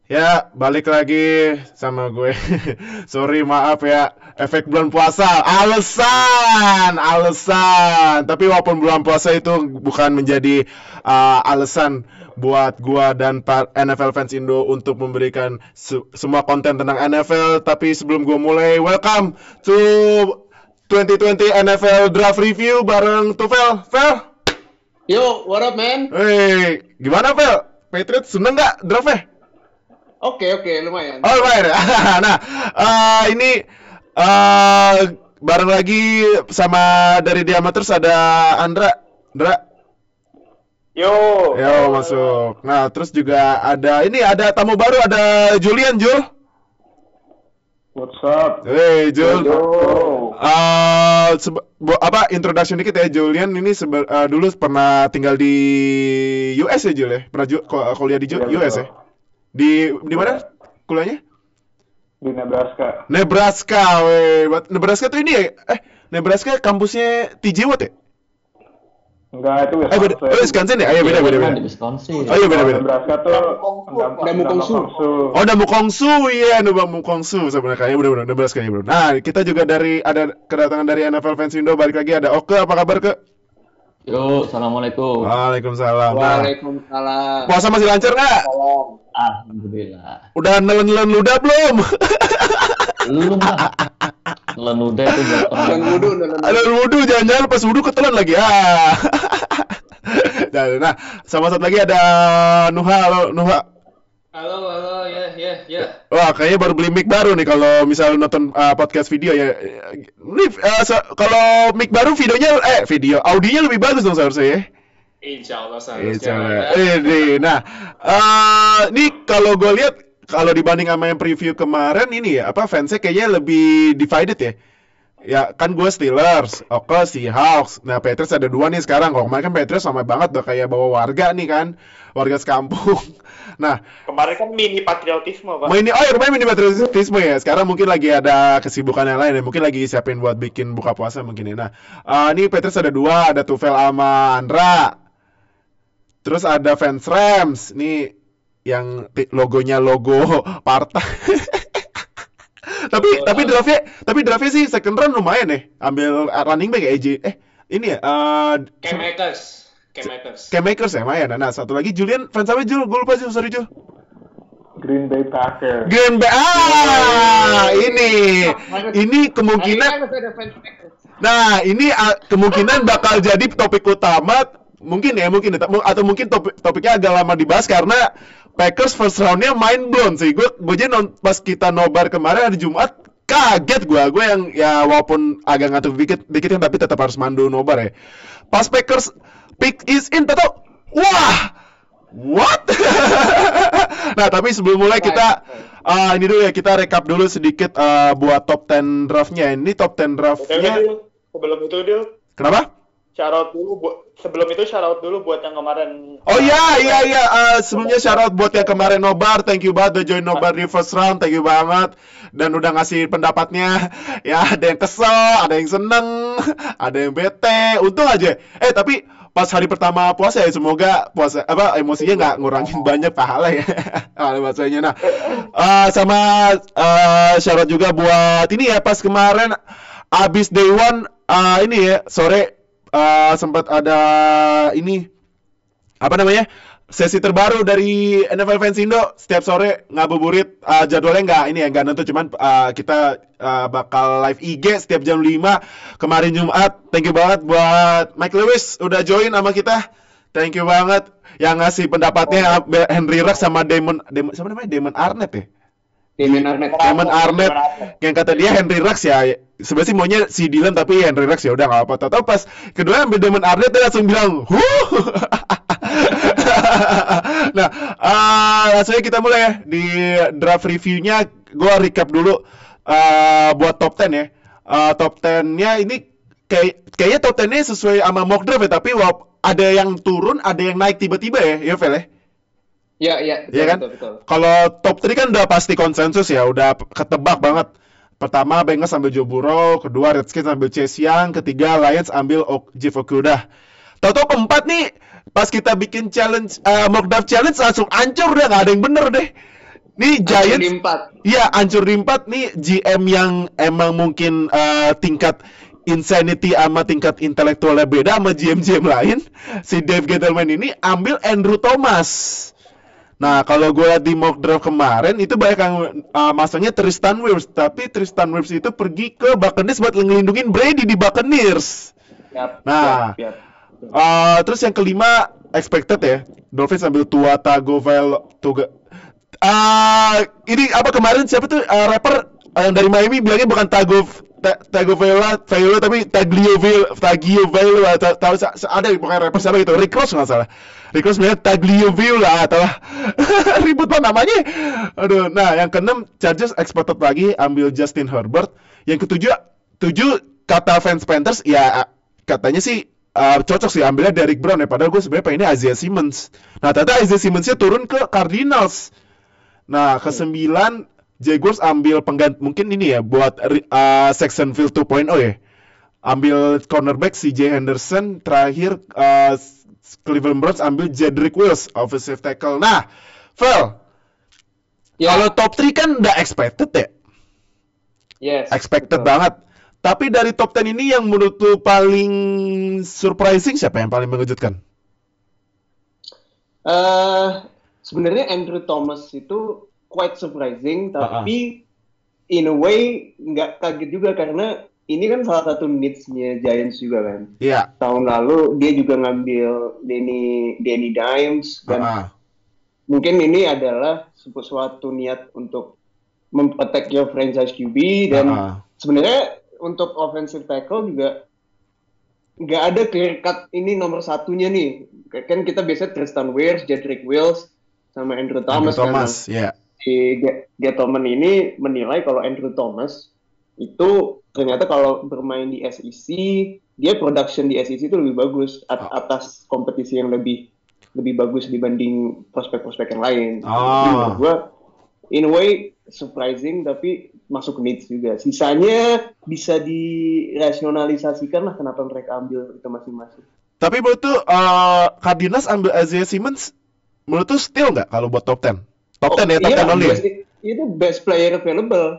Ya, balik lagi sama gue. Sorry, maaf ya. Efek bulan puasa. Alasan. Tapi walaupun bulan puasa itu bukan menjadi alasan buat gua dan NFL fans Indo untuk memberikan semua konten tentang NFL. Tapi sebelum gua mulai, welcome to 2020 NFL Draft Review bareng Tufel. Fel? Yo, what up, man? Hey, gimana Fel? Patriots seneng nggak draftnya? Oke, lumayan. Oh, lumayan ya. Nah, ini bareng lagi sama dari Diameters ada Andra. Yo, Masuk. Nah, terus juga ada tamu baru, ada Julian, Jul. what's up? Hey, Jul. Yo. Introduction dikit ya, Julian ini dulu pernah tinggal di US ya, Jul ya? Pernah kuliah di Iya, US ya? betul. Di mana kuliahnya? Di Nebraska. Nebraska, weh. Nebraska tuh ini ya? Nebraska kampusnya TJ Watt ya? Enggak, itu Beda. Wisconsin ya? Beda. Di Wisconsin. Oh iya, beda. Nebraska tuh Damukongsu. Oh, Damukongsu, iya, Damukongsu sebenarnya kayaknya benar Nebraska ya, Bro. Nah, kita juga ada kedatangan dari NFL fans Indo, balik lagi ada Oke, apa kabar, Ke? Yo, assalamualaikum. Waalaikumsalam. Nah, Waalaikumsalam. puasa masih lancar nggak? Alhamdulillah. Udah nelen ludah belum? Belum lah. Nelen udah itu buat Dan orang. Ada wudhu, jangan-jangan pas wudhu ketelan lagi. Nah, sama satu lagi ada Nuha. Halo, Nuha. Halo, ya. Wah, kayaknya baru beli mic baru nih kalau misalnya nonton podcast video ya. Ini kalau mic baru audionya lebih bagus dong seharusnya ya. Insya Allah Nah, ini kalau gue lihat kalau dibanding sama yang preview kemarin ini ya, fansnya kayaknya lebih divided ya. Ya kan gue Steelers, Oke Seahawks. Nah, Patriots ada dua nih sekarang. Kalau kemarin kan Patriots sama banget udah kayak bawa warga nih kan, warga sekampung. Nah, Kemarin kan mini patriotisme, Pak. kemarin mini patriotisme ya. Sekarang mungkin lagi ada kesibukan yang lain ya. Mungkin lagi siapin buat bikin buka puasa mungkin ya. Nah, ini Patriots ada dua, ada Tufel sama Andra. Terus ada fans Rams. Nih yang logonya logo partai. tapi draftnya sih second round lumayan nih. Ambil running back AJ. Ini ya Cam Akers ya, lumayan. Nah, satu lagi Julian, fans apa Jul? Gue lupa sih, sorry Jul. Green Bay Packers. Ini kemungkinan. Nah, ini kemungkinan bakal jadi topik utama. Mungkin atau mungkin topiknya agak lama dibahas karena Packers first round-nya mind blown sih. Gue aja pas kita nobar kemarin hari Jumat kaget gue yang ya walaupun agak ngantuk dikit kan tapi tetap harus mandu nobar ya. Pas Packers pick is in, tahu? Wah, what? Nah, tapi sebelum mulai kita ini dulu ya, kita recap dulu sedikit buat top 10 draft-nya. Ini top 10 draft-nya. Sebelum itu, Dil. Kenapa? Sebelum itu shout out dulu buat yang kemarin. Oh iya. Sebelumnya shout out buat yang kemarin nobar. Thank you banget udah join nobar di first round. Thank you banget. Dan udah ngasih pendapatnya. Ya, ada yang kesel, ada yang seneng, ada yang bete. Untung aja. Tapi pas hari pertama puasa ya, semoga emosinya nggak ngurangin banyak pahala ya. Bahasanya. Nah, sama shout out juga buat ini ya, pas kemarin abis day one ini ya, sore sempat ada ini sesi terbaru dari NFL Fans Indo. Setiap sore ngabuburit, jadwalnya nggak nentu, cuman kita bakal live IG setiap jam 5 kemarin Jumat. Thank you banget buat Mike Lewis udah join sama kita. Thank you banget yang ngasih pendapatnya. Henry Ruggs sama Damon Arnett ya. Damon Arnett yang kata dia Henry Ruggs ya. Sebenarnya sih maunya si Dylan tapi Henry Ruggs ya udah nggak apa-apa. Tahu pas kedua ambil Damon Arnett dia langsung bilang, Nah, langsung kita mulai ya di draft reviewnya. Gue recap dulu buat top 10 ya. Top 10-nya ini kayaknya top 10-nya sesuai sama mock draft ya, tapi ada yang turun, ada yang naik tiba-tiba ya, Vel ya. Iya kan? Betul. Kalau top 3 kan udah pasti konsensus ya, udah ketebak banget. Pertama Bengals ambil Joe Burrow, kedua Redskins ambil Chase Young, ketiga Lions ambil Jeff Okudah. Tahu-tahu keempat nih pas kita bikin challenge mock draft challenge langsung ancur, udah nggak ada yang bener deh. Nih Giants di Giants 4. iya hancur di 4 nih. GM yang emang mungkin tingkat insanity sama tingkat intelektualnya beda sama GM-GM lain. Si Dave Gettleman ini ambil Andrew Thomas. Nah, kalau gue lihat di mock draft kemarin itu banyak yang masangnya Tristan Wirfs, tapi Tristan Wirfs itu pergi ke Buccaneers buat ngelindungin Brady di Buccaneers. Nah, terus yang kelima expected ya, Dolphins ambil Tua Tagovailoa. Ini apa kemarin siapa tuh rapper yang dari Miami bilangnya bukan Tagovailoa tapi Tagovailoa tahu ada pokoknya rapper siapa gitu, Rick Ross nggak salah. Rick Ross bilangnya Tagovailoa atau ribut banget namanya. Aduh, nah yang keenam Chargers expected lagi ambil Justin Herbert. Yang ketujuh kata fans Panthers ya katanya sih cocok sih ambilnya Derrick Brown ya, padahal gue sebenarnya pengennya Isaiah Simmons. Nah ternyata Isaiah Simmons-nya turun ke Cardinals. Nah ke-9 Jaguars ambil pengganti mungkin ini ya buat Jacksonville 2.0 ya. Ambil cornerback CJ Henderson, terakhir Cleveland Browns ambil Jedrick Wills offensive tackle. Nah, Val, kalau top 3 kan udah expected ya? Yes. Expected banget. Tapi dari top 10 ini yang menurut lu paling surprising siapa yang paling mengejutkan? Sebenarnya Andrew Thomas itu quite surprising, tapi in a way nggak kaget juga karena ini kan salah satu needs-nya Giants juga kan. Iya. Tahun lalu dia juga ngambil Danny Dimes dan mungkin ini adalah suatu niat untuk memprotect your franchise QB dan sebenarnya untuk offensive tackle juga nggak ada clear cut ini nomor satunya nih. Kan kita biasa Tristan Wirfs, Jedrick Wills sama Andrew Thomas. Yeah. Si Gettleman ini menilai kalau Andrew Thomas itu ternyata kalau bermain di SEC dia production di SEC itu lebih bagus atas kompetisi yang lebih bagus dibanding prospek-prospek yang lain. Menurut gue in a way surprising tapi masuk needs juga. Sisanya bisa dirasionalisasikan lah kenapa mereka ambil itu masing-masing. Tapi menurut tuh Cardinals ambil Isaiah Simmons menurut tuh still nggak kalau buat top 10? Top 10 ya, top 10 only. Itu best player available.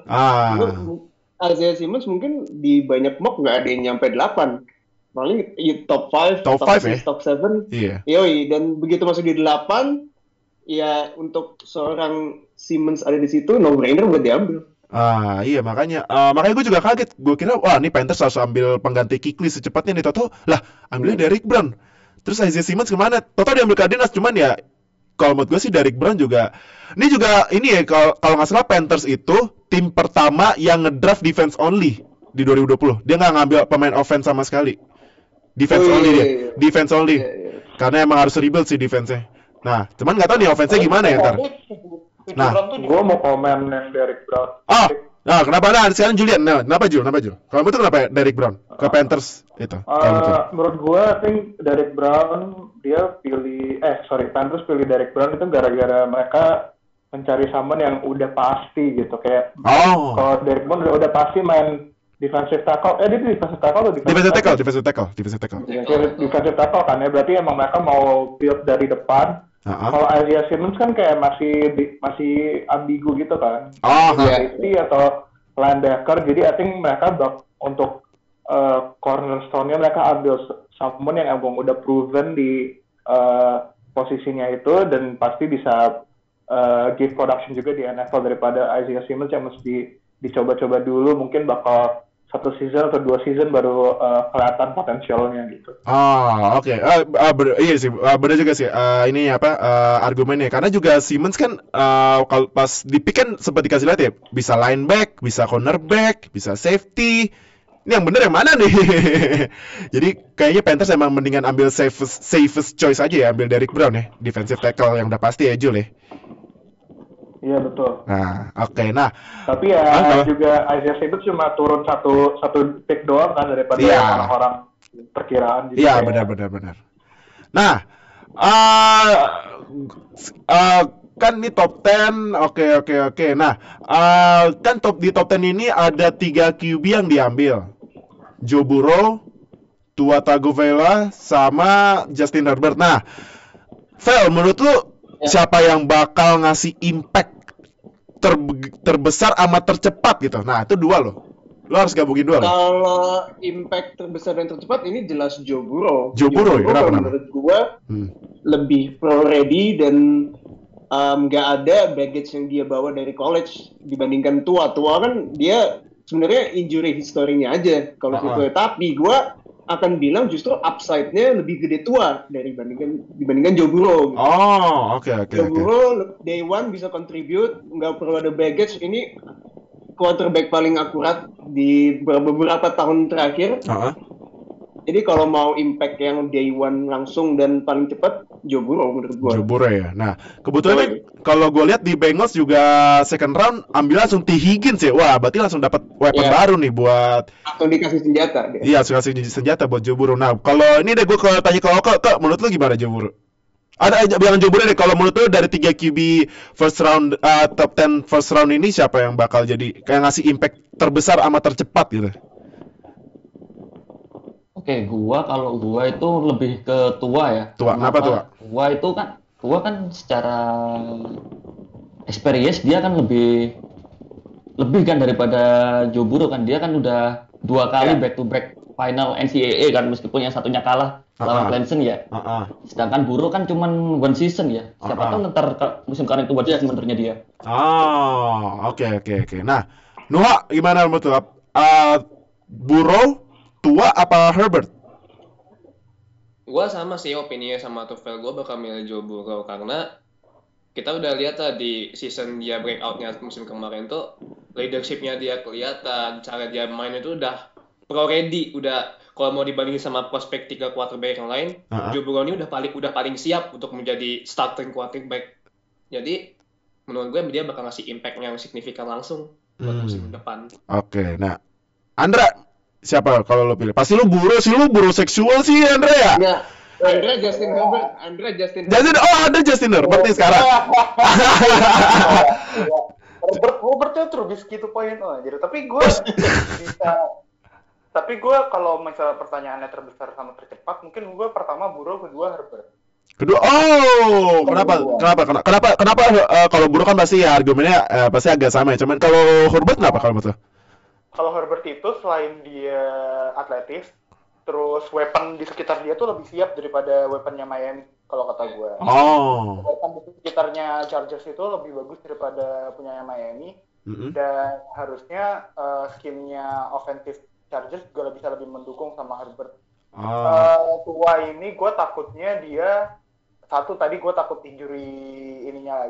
Isaiah Simmons mungkin di banyak mock nggak ada yang nyampe 8. Paling top 5, top 6, ya? Top 7. Iya. Yoi, dan begitu masuk di 8, ya untuk seorang Simmons ada di situ, no-brainer buat diambil. Iya makanya gue juga kaget. Gue kira wah ini Panthers harus ambil pengganti Kuechly secepatnya nih. Toto lah ambilnya Derrick Brown. Terus Isaiah Simmons kemana? Toto diambil Cardinals cuman ya kalau menurut gue sih Derrick Brown juga ini ya kalau nggak salah Panthers itu tim pertama yang ngedraft defense only di 2020. Dia nggak ngambil pemain offense sama sekali. Defense only dia. Defense only. Karena emang harus rebuild sih defense-nya. Nah, cuman nggak tahu nih offense-nya gimana ya ntar. Nah, gue mau komen yang Derrick Brown. Nah, kenapa? Nah, sekarang Julian. Nah, kenapa Jul? Kalau betul kenapa Derrick Brown ke Panthers itu? Menurut gue, I think Derrick Brown Panthers pilih Derrick Brown itu gara-gara mereka mencari someone yang udah pasti gitu kayak. Kalau Derrick Brown udah pasti main defensive tackle. Dia defensive tackle atau defensive tackle? Defensive tackle kan ya. Berarti emang mereka mau build dari depan. Kalau Isaiah Simmons kan kayak masih ambigu gitu kan. Safety atau linebacker. Jadi I think mereka untuk cornerstone-nya mereka ambil someone yang emang udah proven di posisinya itu dan pasti bisa give production juga di NFL daripada Isaiah Simmons yang mesti dicoba-coba dulu. Mungkin bakal 1 season atau 2 season baru kelihatan potensialnya gitu. Oke. Iya sih, benar juga sih. Ini argumennya karena juga Simmons kan kalau pas di pick kan sempat dikasih lihat ya, bisa lineback, bisa cornerback, bisa safety. Ini yang benar yang mana nih? Jadi kayaknya Panthers emang mendingan ambil safest choice aja ya, ambil Derrick Brown ya, defensive tackle yang udah pasti ya Jul ya. Iya betul. Nah, oke. Nah, tapi ya juga Isaiah Simmons cuma turun satu pick doang kan daripada orang-orang perkiraan. Iya, benar. Nah, kan ini top 10. Oke. Nah, kan di top 10 ini ada 3 QB yang diambil. Joe Burrow, Tua Tagovailoa, sama Justin Herbert. Nah, Vel, menurut lu siapa yang bakal ngasih impact terbesar sama tercepat gitu. Nah, itu dua loh. Lo harus gabungin dua loh. Kalau impact terbesar dan tercepat ini jelas Joe Burrow. Joe Burrow ya? Kenapa? Menurut gue lebih pro ready dan nggak ada baggage yang dia bawa dari college dibandingkan Tua. Tua kan dia sebenarnya injury historinya aja kalau gitu. Tapi gue akan bilang justru upside-nya lebih gede Tua dibandingkan Joe Burrow. Gitu. Oke. Joe Burrow day one bisa contribute, nggak perlu ada baggage. Ini quarterback paling akurat di beberapa tahun terakhir. Jadi kalau mau impact yang day one langsung dan paling cepat, Joe Burrow menurut gue. Joe Burrow ya. Nah, kebetulan kalau gue lihat di Bengals juga second round ambil langsung T. Higgins ya. Wah, berarti langsung dapat weapon baru nih buat. Atau dikasih senjata. Iya, dikasih senjata buat Joe Burrow. Nah, kalau ini deh gue tanya ke Oka, menurut lu gimana Joe Burrow? Ada bilang Joe Burrow deh. Kalau menurut lu dari 3 QB first round top 10 first round ini siapa yang bakal jadi kayak ngasih impact terbesar sama tercepat gitu? Oke, kalau gua itu lebih ke Tua ya. Kenapa Tua? Tua kan secara experience dia kan lebih kan daripada Joe Burrow kan. Dia kan udah 2 kali back to back final NCAA kan, meskipun yang satunya kalah lawan Clemson ya. Sedangkan Burrow kan cuman one season ya. Siapa tahu ntar musim kemarin itu one season menurutnya dia. Oke. Nah, Noah gimana menurut lu? Burrow, Tua apa Herbert? Gua sama sih opininya sama Tufel. Gua bakal milih Joe Burrow karena kita udah lihat di season dia breakout-nya musim kemarin tuh leadership-nya dia kelihatan, cara dia main itu udah pro ready, udah kalau mau dibandingin sama prospek 3 quarterback yang lain, Joe Burrow ini udah paling siap untuk menjadi starting quarterback. Jadi menurut gue dia bakal ngasih impact yang signifikan langsung buat musim depan. Oke, nah Andra siapa kalau lo pilih? Pasti lo Burrow seksual sih Andra ya? Enggak. Andra Justin Herbert. Ada Justin Herbert nih sekarang. Herbertnya Trubisky 2.0 aja. Tapi gue kalau misalnya pertanyaannya terbesar sama tercepat, mungkin gue pertama Burrow, kedua Herbert. Kenapa kalau Burrow kan pasti ya argumennya pasti agak sama ya. Cuman kalau Herbert kenapa kalau menurut lo? Kalau Herbert itu selain dia atletis, terus weapon di sekitar dia tuh lebih siap daripada weaponnya Miami kalau kata gue. Weapon di sekitarnya Chargers itu lebih bagus daripada punya Miami. Dan harusnya scheme-nya offensive Chargers juga bisa lebih mendukung sama Herbert. Tua ini gue takutnya dia tadi gue takut injury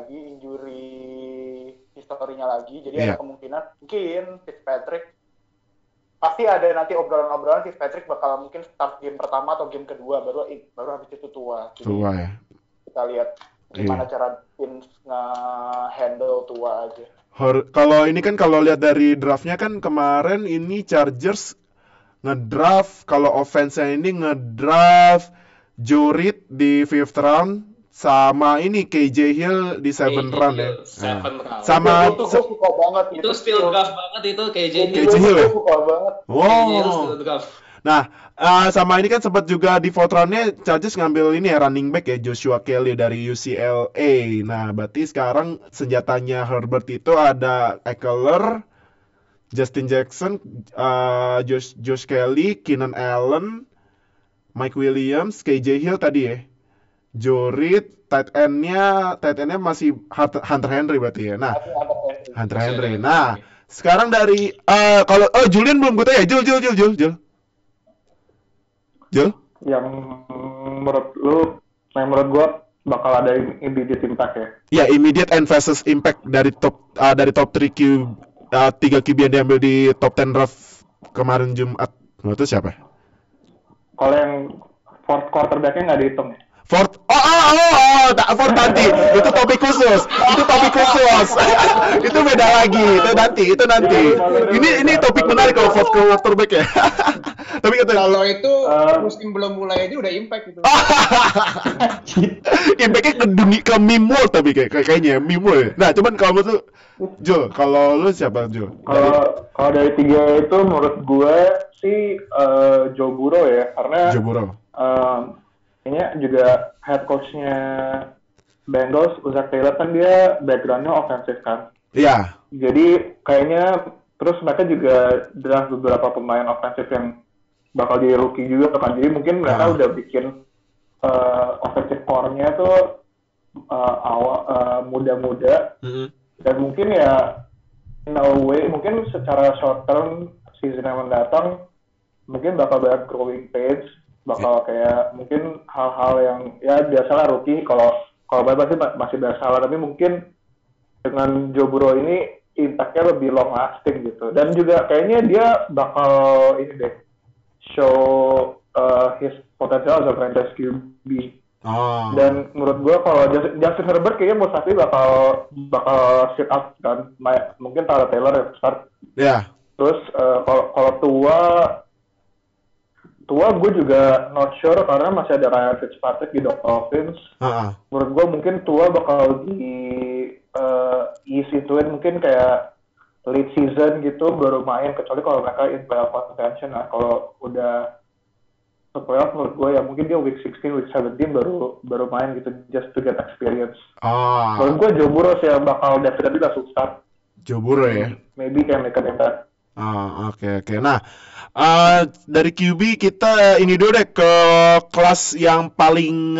historinya lagi. Jadi ada kemungkinan mungkin Fitzpatrick pasti ada nanti obrolan-obrolan Fitzpatrick bakal mungkin start game pertama atau game kedua baru habis itu Tua. Jadi ya. Kita lihat gimana cara Vince nge-handle Tua aja. Kalau ini kan kalau lihat dari draftnya kan kemarin ini Chargers ngedraft kalau offense-nya ini ngedraft Joe Reed di 5th round sama ini KJ Hill di 7th round ya. 7th round. Sama itu gue suka banget itu still draft banget itu KJ Hill. KJ Hill ya? Suka banget. Still draft. Nah, sama ini kan sempat juga di 4th round-nya Chargers ngambil ini ya running back ya Joshua Kelly dari UCLA. Nah, berarti sekarang senjatanya Herbert itu ada Ekeler, Justin Jackson, Josh Kelly, Keenan Allen, Mike Williams, KJ Hill tadi ya. Joe Reed, tight end-nya masih Hunter Henry berarti ya. Nah, Hunter Henry. Nah, sekarang dari kalau Julian belum gue tanya. Jul. Yang menurut gue bakal ada immediate impact ya. Ya, immediate and fastest impact dari top 3 QB yang diambil di top 10 draft kemarin Jumat. Menurut itu siapa? Kalau yang fourth quarterback-nya nggak dihitung ya? Ford nanti itu topik khusus itu beda lagi itu nanti ini topik menarik kalau Ford quarterback ya. Tapi kalau itu musim belum mulai aja udah impact gitu. Impactnya ke meme world tapi kayaknya meme world. Nah cuman kalau menurut Jo, kalau lu siapa Jo? Kalau dari 3 itu menurut gue sih Joe Burrow ya, karena Joe Burrow. Ini juga head coach-nya Bengals, Zach Taylor kan dia background-nya offensive kan. Iya. Jadi kayaknya terus mereka juga draft beberapa pemain ofensif yang bakal jadi rookie juga kan. Jadi mungkin mereka udah bikin offensive core-nya tuh muda-muda. Dan mungkin ya in a way mungkin secara short term season yang mendatang mungkin bakal banyak growing pains, bakal kayak mungkin hal-hal yang ya biasalah rookie kalau masih biasa, tapi mungkin dengan Joe Burrow ini impact-nya lebih long lasting gitu. Dan juga kayaknya dia bakal ini deh show his potential as a franchise QB. Dan menurut gue kalau Justin Herbert kayaknya most likely bakal sit up kan. Mungkin Tyrod Taylor yang start. Yeah. Terus kalau tua gue juga not sure karena masih ada Ryan Fitzpatrick di Dolphins. Menurut gue mungkin tua bakal easy-to-win mungkin kayak late season gitu baru main, kecuali kalau mereka in playoff contention. Nah kalau udah playoff menurut gue ya mungkin dia week 16, week 17 baru main gitu just to get experience. Menurut gue Joe Burrow sih yang bakal definitely langsung start. Joe Burrow ya? Maybe can make an impact. Oke. Nah, dari QB kita ini dulu deh ke kelas yang paling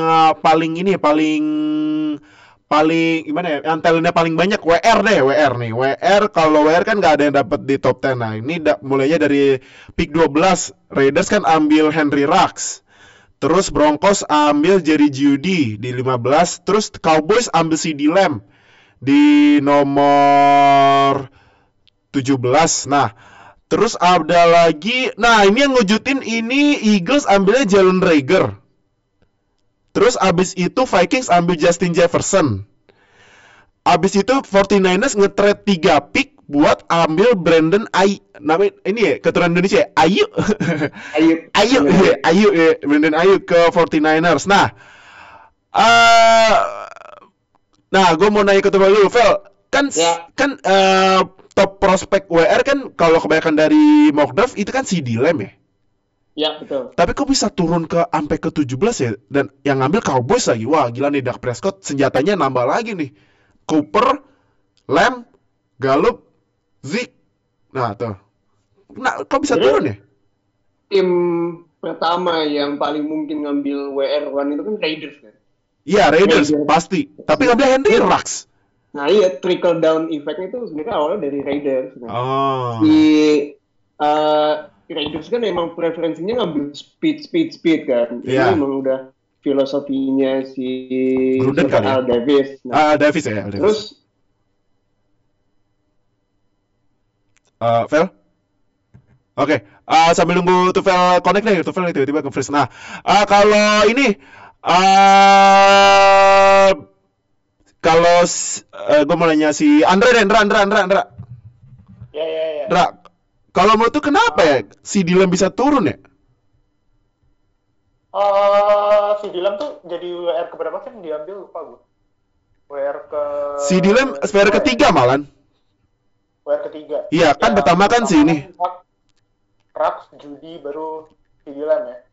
gimana ya? Yang talentnya paling banyak WR deh, WR nih. WR kalau WR kan nggak ada yang dapat di top 10. Nah, ini mulainya dari pick 12. Raiders kan ambil Henry Ruggs. Terus Broncos ambil Jerry Jeudy di 15. Terus Cowboys ambil CeeDee Lamb di nomor 17. Nah, terus ada lagi. Nah, ini yang ngejutin ini Eagles ambilnya Jalen Reagor. Terus abis itu Vikings ambil Justin Jefferson. Abis itu 49ers nge-trade 3 pick buat ambil Brandon namanya ini ya, keturunan Indonesia ya? Ayu Brandon Ayuk ke 49ers. Nah, gue mau nanya ke teman lu, Vel. Kan top prospek WR kan kalau kebanyakan dari mock draft itu kan CeeDee Lamb ya? Ya, betul. Tapi kok bisa turun sampai ke 17 ya? Dan yang ngambil Cowboys lagi. Wah, gila nih Dak Prescott senjatanya nambah lagi nih. Cooper, Lamb, Gallup, Zeke. Nah, tuh. Nah, kok bisa turun ya? Tim pertama yang paling mungkin ngambil WR1 itu kan Raiders kan? Iya, Raiders pasti. Tapi ngambil Henry Ruggs. Nah, iya, trickle down effect itu sebenarnya awalnya dari Raiders. Raiders kan emang preferensinya ngambil speed kan. Ini emang udah filosofinya si Gruden kan Al Davis. Davis ya. Terus Vel? Oke. Sambil nunggu Tufel connect deh, Tufel tiba-tiba ke-freeze. Nah, kalau ini kalau gue mau nanya si Andra. Ya. Andra, kalau menurut tuh kenapa ya si Dylan bisa turun ya? Si Dylan tuh jadi WR keberapa sih yang diambil, lupa gue. WR ke... Si Dylan WR ketiga malan. WR ketiga. Iya, kan pertama kan si ini. Ruggs, Jeudy, baru si Dylan ya.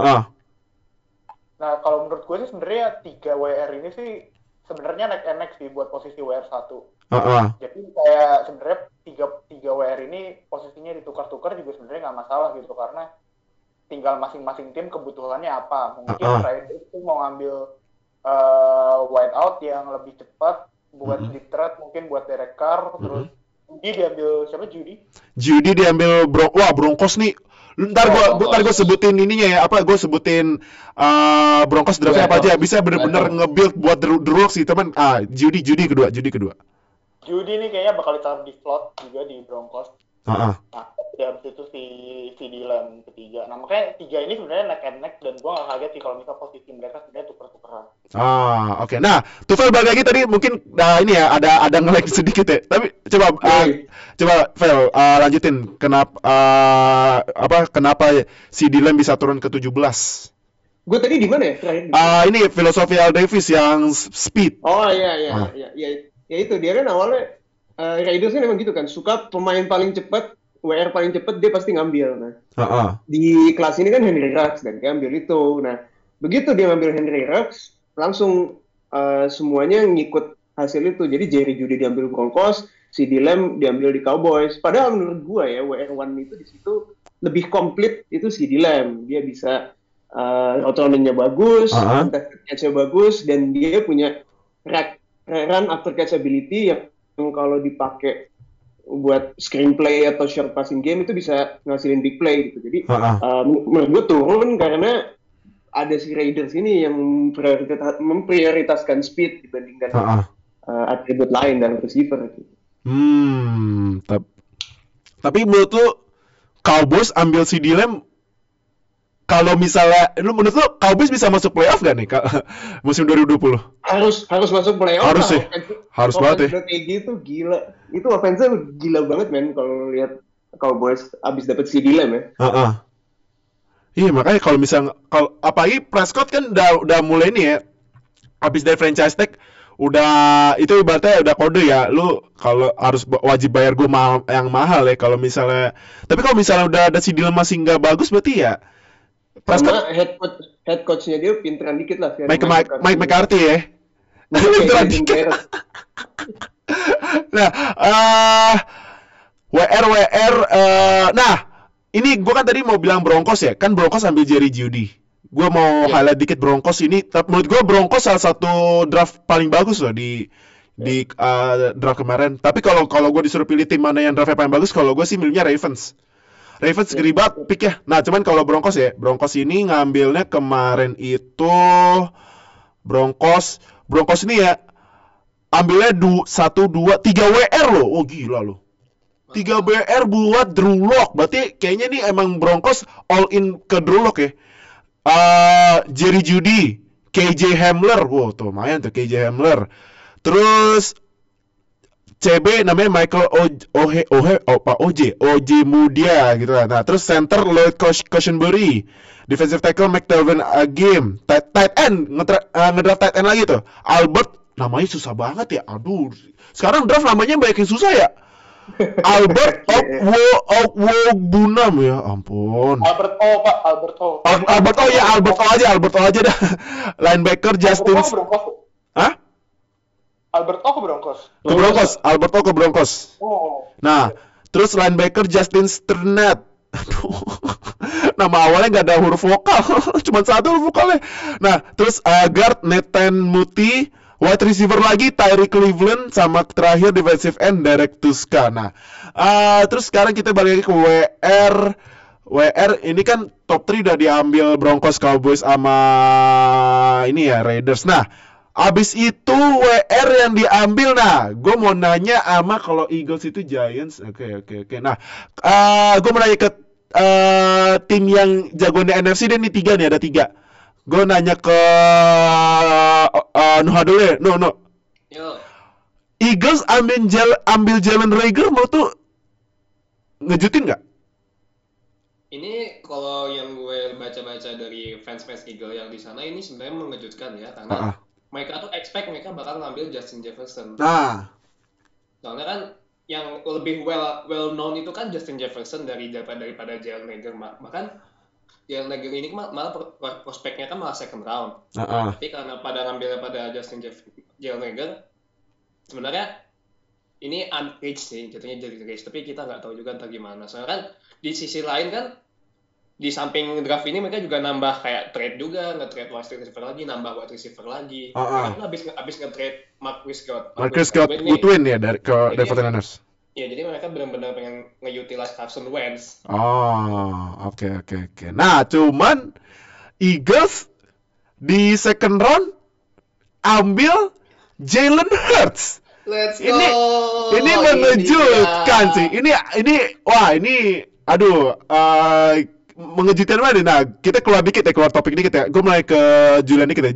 Nah, kalau menurut gue sih sebenarnya 3 WR ini sih sebenarnya neck sih buat posisi WR 1. Jadi kayak sebenarnya 3 WR ini posisinya ditukar-tukar juga sebenarnya nggak masalah gitu, karena tinggal masing-masing tim kebutuhannya apa. Mungkin Raiders itu mau ngambil wide out yang lebih cepat buat deep threat, mungkin buat Derek Carr. Terus diambil siapa? Jeudy diambil Broncos nih. Ntar gue sebutin ininya ya, gue sebutin Broncos draftnya apa aja, bisa bener-bener nge-build buat The Rooks sih teman. Jeudy kedua. Jeudy nih kayaknya bakal ditaruh di slot juga di Broncos. Nah, habis itu si Dylan ketiga. Nah, makanya 3 ini sebenarnya neck and neck, dan gue gak kaget sih kalau misalnya posisi mereka sebenarnya tuker-tukeran. Oke. Nah, Tufel balik lagi tadi mungkin ini ya ada nge-lag sedikit ya. Tapi coba Vel lanjutin kenapa si Dylan bisa turun ke 17? Gue tadi di mana ya? Ini filosofi Al Davis yang speed. Iya. Ya itu dia kan awalnya Raiders kan memang gitu kan, suka pemain paling cepat, WR paling cepat dia pasti ngambil. Nah, di kelas ini kan Henry Ruggs dan dia ambil itu. Nah, begitu dia ngambil Henry Ruggs, langsung semuanya ngikut hasil itu. Jadi Jerry Jeudy diambil Broncos, CeeDee Lamb diambil di Cowboys. Padahal menurut gue ya WR1 itu di situ lebih komplit itu CeeDee Lamb. Dia bisa route running-nya bagus, contested catch-nya bagus, dan dia punya run after catch ability yang kalau dipakai buat screenplay atau short passing game itu bisa ngasilin big play gitu. Jadi menurut gue turun karena ada si Raiders ini yang memprioritaskan speed dibandingkan atribut lain dalam receiver. Tapi menurut lu Cowboys ambil CeeDee Lamb, kalau misalnya menurut lu Cowboys bisa masuk playoff gak nih musim 2020? Harus masuk playoff. Harus sih. Harus banget ya. Kayak gitu gila. Itu offense-nya gila banget men kalau lihat Cowboys abis dapat CeeDee Lamb ya. Iya makanya kalau misalnya apalagi Prescott kan udah mulai nih ya. Abis dari franchise tag udah itu ibaratnya udah kode ya, lu kalau harus wajib bayar gue yang mahal ya kalau misalnya. Tapi kalau misalnya udah ada CeeDee Lamb masih nggak bagus berarti ya. Sama head coach-nya dia pinteran dikit lah. Mike McCarthy ya. Pinteran dikit. Nah, WR. Nah, ini gue kan tadi mau bilang Broncos ya. Kan Broncos ambil Jerry Jeudy. Gue mau highlight dikit Broncos ini. Menurut gue Broncos salah satu draft paling bagus loh di draft kemarin. Tapi kalau gue disuruh pilih tim mana yang draftnya paling bagus, kalau gue sih milihnya Ravens. Ravens gede banget pick ya. Nah, cuman kalau Broncos ini ngambilnya kemarin itu Broncos ini ya ambilnya 1, 2, 3 WR loh. Oh gila loh. 3 WR buat Drew Lock. Berarti kayaknya nih emang Broncos all in ke Drew Lock ya. Jerry Jeudy, KJ Hamler. Wow, tuh lumayan tuh KJ Hamler. Terus CB namanya Michael OJ Mudia gitu lah. Nah, terus center Lloyd Cushenberry, defensive tackle McTelvin Agim, tight end ngedraft tight end lagi tuh. Albert, namanya susah banget ya. Aduh. Sekarang draft namanya banyak yang susah ya. Albert Ogbunam ya ampun. Albert O aja dah. Linebacker Justin. Hah? Albert O ke Broncos. Albert O ke Broncos. Oh. Nah, terus linebacker Justin Strnad. Aduh. Nama awalnya nggak ada huruf vokal, cuma satu huruf vokalnya. Nah, terus guard Nathan Muti, wide receiver lagi Tyree Cleveland, sama terakhir defensive end Derek Tuska. Nah, terus sekarang kita balik lagi ke WR ini kan top 3 udah diambil Broncos, Cowboys sama ini ya Raiders. Nah, abis itu WR yang diambil. Nah, gue mau nanya sama kalau Eagles itu Giants. Oke. Nah, gue mau nanya ke tim yang jagoan di NFC dan ini 3 nih, ada 3. Gue nanya ke Nuha dulu ya. No. Yo. Eagles ambil Jalen Reagor mau tuh ngejutin nggak? Ini kalau yang gue baca-baca dari fans Eagle yang di sana ini sebenarnya mengejutkan ya, karena mereka tuh expect mereka bakal ngambil Justin Jefferson. Soalnya kan yang lebih well known itu kan Justin Jefferson daripada Jalen Reagor. Bahkan Jalen Reagor ini malah prospeknya kan malah second round. Tapi karena pada ngambilnya pada Jalen Reagor, sebenarnya ini unreached sih, jatuhnya jadi reach. Tapi kita nggak tahu juga entah gimana. Soalnya kan di sisi lain kan, di samping draft ini mereka juga nambah kayak trade juga, nge-trade wide receiver lagi, nambah wide receiver lagi. Mereka abis nge-trade Marcus Scott Goodwin ya ke 49ers. Iya, jadi mereka benar-benar pengen nge-utilize Carson Wentz. Oke. Nah, cuman Eagles di second round ambil Jalen Hurts. Let's go. Ini mengejutkan sih. Ini aduh, mengejutkan banget. Nah, kita keluar topik dikit ya. Gue mulai ke Julian dikit ya.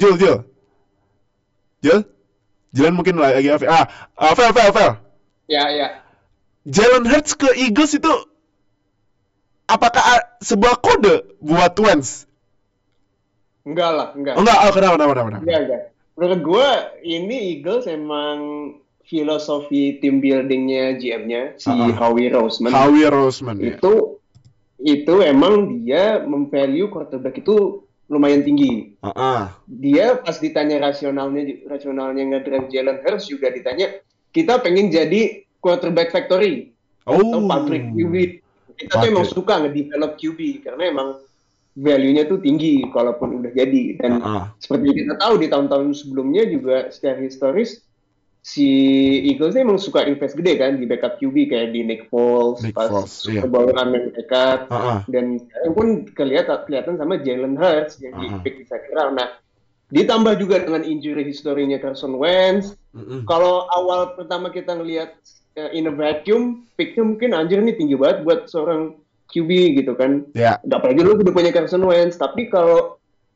Julian mungkin lagi Fel. Ya. Jalen Hurts ke Eagles itu apakah sebuah kode buat Wentz? Enggak lah. Kenapa? Enggak. Menurut gue ini Eagles emang filosofi team buildingnya GM-nya si Howie Roseman. Ya. Itu emang dia memvalue quarterback itu lumayan tinggi. Dia pas ditanya rasionalnya ngedraft Jalen Hurts juga ditanya, kita pengen jadi quarterback factory atau pabrik QB. Kita tuh emang suka nge-develop QB karena emang value-nya tuh tinggi kalaupun udah jadi. Dan seperti kita tahu di tahun-tahun sebelumnya juga secara historis si Eagles ini emang suka invest gede kan di backup QB kayak di Nick Foles pas Super Bowl mereka dan sekarang pun kelihatan sama Jalen Hurts yang di-pick di second round. Nah, ditambah juga dengan injury historinya Carson Wentz. Kalau awal pertama kita ngelihat in a vacuum, picknya mungkin anjir nih tinggi banget buat seorang QB gitu kan. Apalagi lu udah punya Carson Wentz. Tapi kalau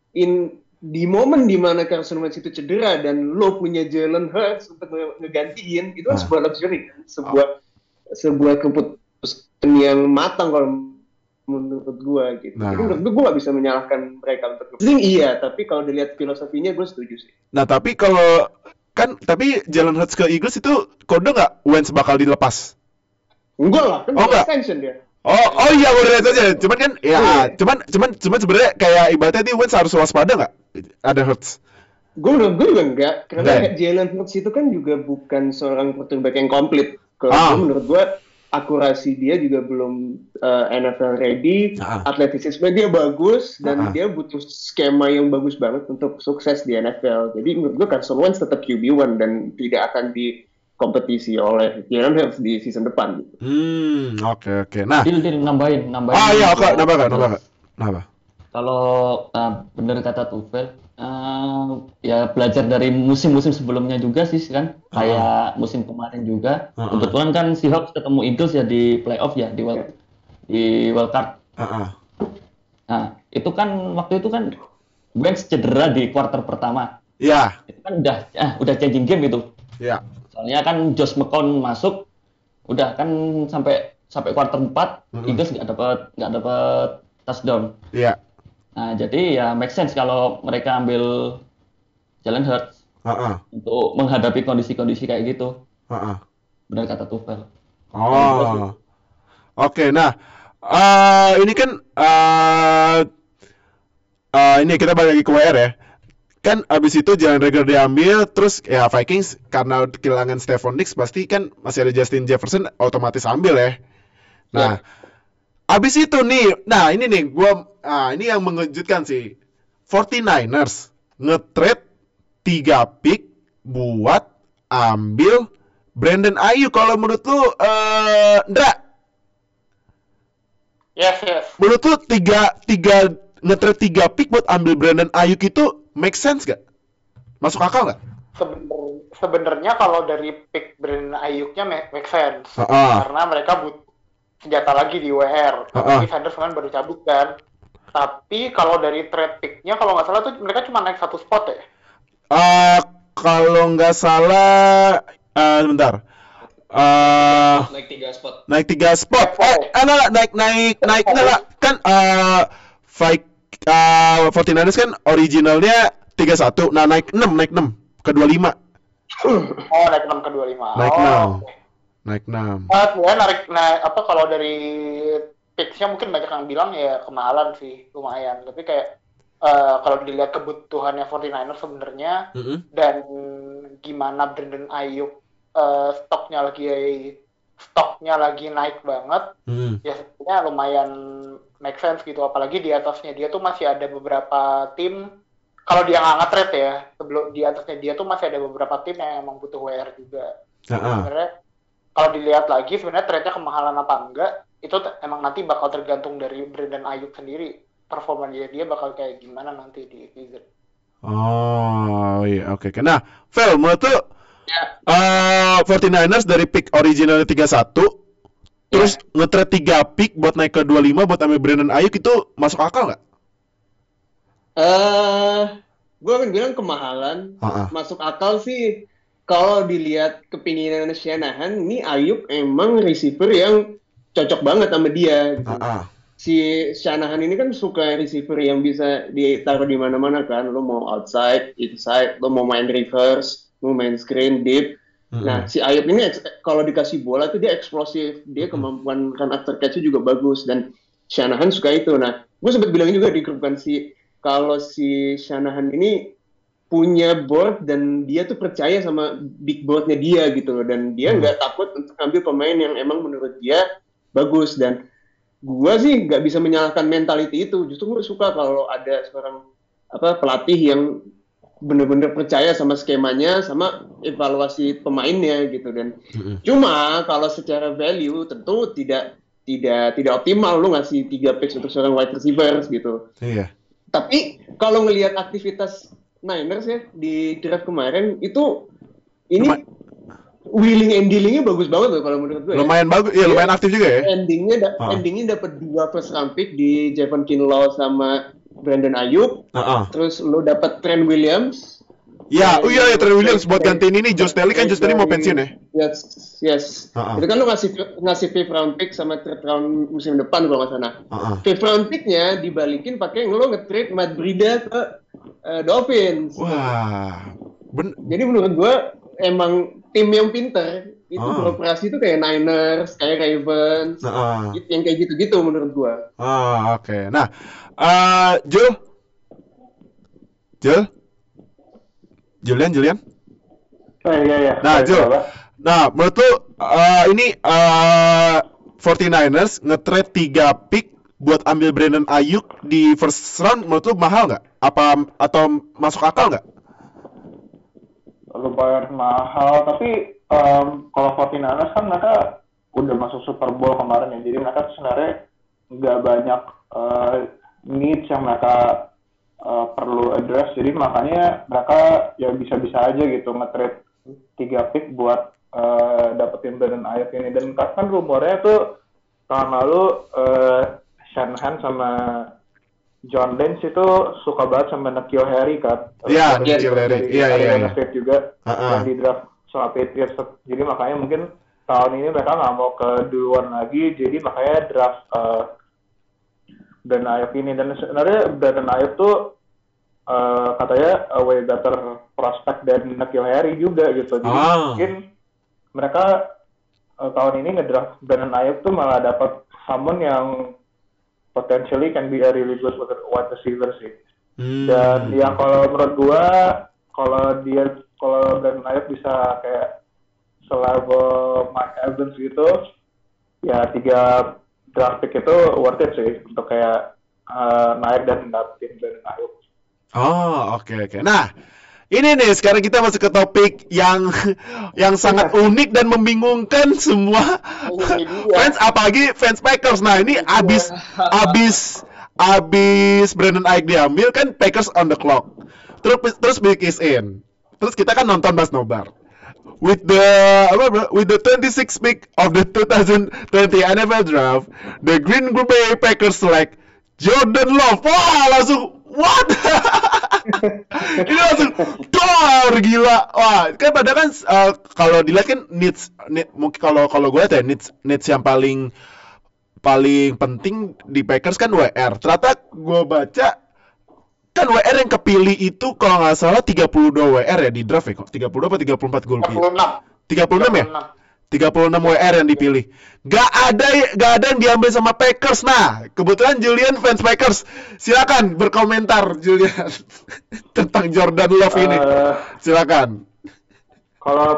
di momen dimana Carson Wentz itu cedera dan lo punya Jalen Hurts untuk ngegantiin, itu kan sebuah luxury kan? Sebuah keputusan yang matang kalau menurut gue gitu. Jadi menurut gue gak bisa menyalahkan mereka untuk tapi kalau dilihat filosofinya gue setuju sih. Nah tapi kalau tapi Jalen Hurts ke Eagles itu kode nggak Wentz bakal dilepas? Enggak lah, kan extension dia. Oh iya udah itu aja. Cuman kan cuman sebenarnya kayak ibaratnya nih Wentz harus waspada nggak? Ada Hurts. Gue juga enggak. Karena Jalen Hurts itu kan juga bukan seorang quarterback yang komplit. Kalau menurut gue akurasi dia juga belum NFL ready. Atletisisme dia bagus dan dia butuh skema yang bagus banget untuk sukses di NFL. Jadi menurut gue Carson Wentz tetap QB1 dan tidak akan kompetisi oleh Jalen Hurts di season depan. Oke. Nah, nambahin. Nambah. Kalau benar kata Tufel, ya belajar dari musim-musim sebelumnya juga sih kan, kayak musim kemarin juga. Kebetulan kan Seahawks ketemu Eagles ya di playoff ya di wild card. Nah, itu kan waktu itu kan Wentz cedera di quarter pertama. Iya. Itu kan udah changing game itu. Iya. Soalnya kan Josh McCown masuk, udah kan sampai quarter 4 Eagles nggak dapat touchdown. Iya. Nah jadi ya make sense kalau mereka ambil Jalen Hurts untuk menghadapi kondisi-kondisi kayak gitu. Benar kata Tufel. Oke. Nah ini kan ini kita balik lagi ke WR ya. Kan abis itu Jalen Reagor diambil, terus ya Vikings karena kehilangan Stephon Diggs pasti kan masih ada Justin Jefferson otomatis ambil ya. Nah, abis itu nih, ini nih ini yang mengejutkan sih. 49ers nge-trade 3 pick buat ambil Brandon Ayuk. Kalau menurut lu, Ndra? Yes. Menurut lu nge-trade 3 pick buat ambil Brandon Ayuk itu make sense gak? Masuk akal gak? Sebenarnya kalau dari pick Brandon Ayuknya make sense. Karena mereka butuh senjata lagi di WR. Tapi Sanders kan baru cabut kan. Tapi kalau dari trade pick-nya kalau nggak salah tuh mereka cuma naik 1 spot ya? Kalau nggak salah, sebentar. Naik 3 spot. Naik 3 spot. Naik kan 49ers kan originalnya 31. Nah, naik 6 ke 25. Naik 6 ke 25. Naik 6. Kalau dari picks-nya mungkin banyak yang bilang ya kemahalan sih, lumayan. Tapi kayak kalau dilihat kebutuhannya 49ers sebenarnya dan gimana Brandon Ayuk stoknya lagi naik banget, ya sebenarnya lumayan make sense gitu. Apalagi di atasnya dia tuh masih ada beberapa tim, kalau dia nggak nge-trade ya, sebelum di atasnya dia tuh masih ada beberapa tim yang emang butuh WR juga. Sebenarnya kalau dilihat lagi sebenarnya trade-nya kemahalan apa enggak, itu emang nanti bakal tergantung dari Brandon Ayuk sendiri, performa dia bakal kayak gimana nanti di season. Oke. Nah, Vel, menurut tuh 49ers dari pick original 31 terus nge-trade 3 pick buat naik ke 25 buat ambil Brandon Ayuk itu masuk akal nggak? Gue akan bilang kemahalan. Masuk akal sih kalau dilihat kepinginan Shanahan. Ini Ayuk emang receiver yang cocok banget sama dia. Gitu. Si Shanahan ini kan suka receiver yang bisa ditaruh di mana-mana kan. Lo mau outside, inside, lo mau main reverse, mau main screen, deep. Nah, si Ayuk ini kalau dikasih bola tuh dia eksplosif, dia kemampuan run after catch-nya juga bagus dan Shanahan suka itu. Nah, gue sempat bilang juga di grup kan kalau si Shanahan ini punya board dan dia tuh percaya sama big boardnya dia gitu loh, dan dia nggak takut untuk ambil pemain yang emang menurut dia bagus. Dan gue sih nggak bisa menyalahkan mentality itu, justru gue suka kalau ada seorang pelatih yang bener-bener percaya sama skemanya, sama evaluasi pemainnya gitu. Dan cuma kalau secara value tentu tidak optimal lu ngasih 3 picks untuk seorang wide receivers gitu. Iya. Tapi kalau ngelihat aktivitas Niners ya di draft kemarin itu ini wheeling and dealingnya bagus banget loh kalau menurut gue. Lumayan bagus, ya lumayan aktif juga ya. Endingnya dapat 2 first round pick di Javon Kinlaw sama Brandon Ayuk. Terus lo dapat Trent Williams. Ya, iya Trent Williams buat gantiin ini Josh Daly kan. Josh Daly mau pensiun ya. Yes. Itu kan lo ngasih 5th round pick sama 3rd round musim depan kalau nggak salah. 5th round picknya dibalikin pakai lo nge-trade Matt Breida ke Dolphins. Wah. Jadi menurut gue emang tim yang pinter itu beroperasi itu kayak Niners, kayak Ravens, yang kayak gitu-gitu menurut gue. Oke. Nah, Julian? Iya. Nah, Jul. Nah, menurut lu ini 49ers nge-trade 3 pick buat ambil Brandon Ayuk di first round, menurut lu mahal nggak? Atau masuk akal nggak? Lumayan mahal, tapi kalau 49ers kan mereka udah masuk Super Bowl kemarin ya, jadi mereka sebenarnya nggak banyak needs yang mereka perlu address, jadi makanya mereka ya bisa-bisa aja gitu nge-trade 3 pick buat dapetin Brandon Ayuk ini. Dan kan rumornya tuh tahun lalu Shanahan sama John Lynch itu suka banget sama N'Keal Harry kan. Iya, N'Keal Harry. Iya. State juga yang di draft sama Patriots. Jadi makanya mungkin tahun ini mereka nggak mau keduluan lagi, jadi makanya draft Brandon Ayuk ini. Dan sebenarnya Brandon Ayuk tuh katanya way better prospect dari N'Keal Harry juga gitu. Jadi mungkin mereka tahun ini ngedraft Brandon Ayuk tuh malah dapat someone yang potentially can be a really good wide receiver sih. Dan ya kalau menurut gua kalau Brandon Ayuk bisa kayak selevel Mike Evans gitu, ya 3 draft pick itu worth it sih untuk kayak naik dan dapetin Brandon Ayuk. Oke. Nah, ini nih sekarang kita masuk ke topik yang sangat unik dan membingungkan semua fans, apalagi fans Packers. Nah, ini abis Brandon Ayuk diambil kan Packers on the clock. Terus Big is in. Terus kita kan nonton Mas Nobar. With the 26th pick of the 2020 NFL Draft, the Green Bay Packers select Jordan Love. Wah, langsung what? Ini langsung dor gila. Wah, kan padahal kan kalau dilihat kan needs mungkin kalau gue lihat ya needs yang paling penting di Packers kan WR. Ternyata gue baca kan WR yang kepilih itu kalau nggak salah 32 WR ya di draft ya kok. 30 apa 34 gue lupa. 36 ya? 36 WR yang dipilih. Gak ada yang diambil sama Packers. Nah, kebetulan Julian fans Packers. Silakan berkomentar Julian tentang Jordan Love ini. Silakan. Kalau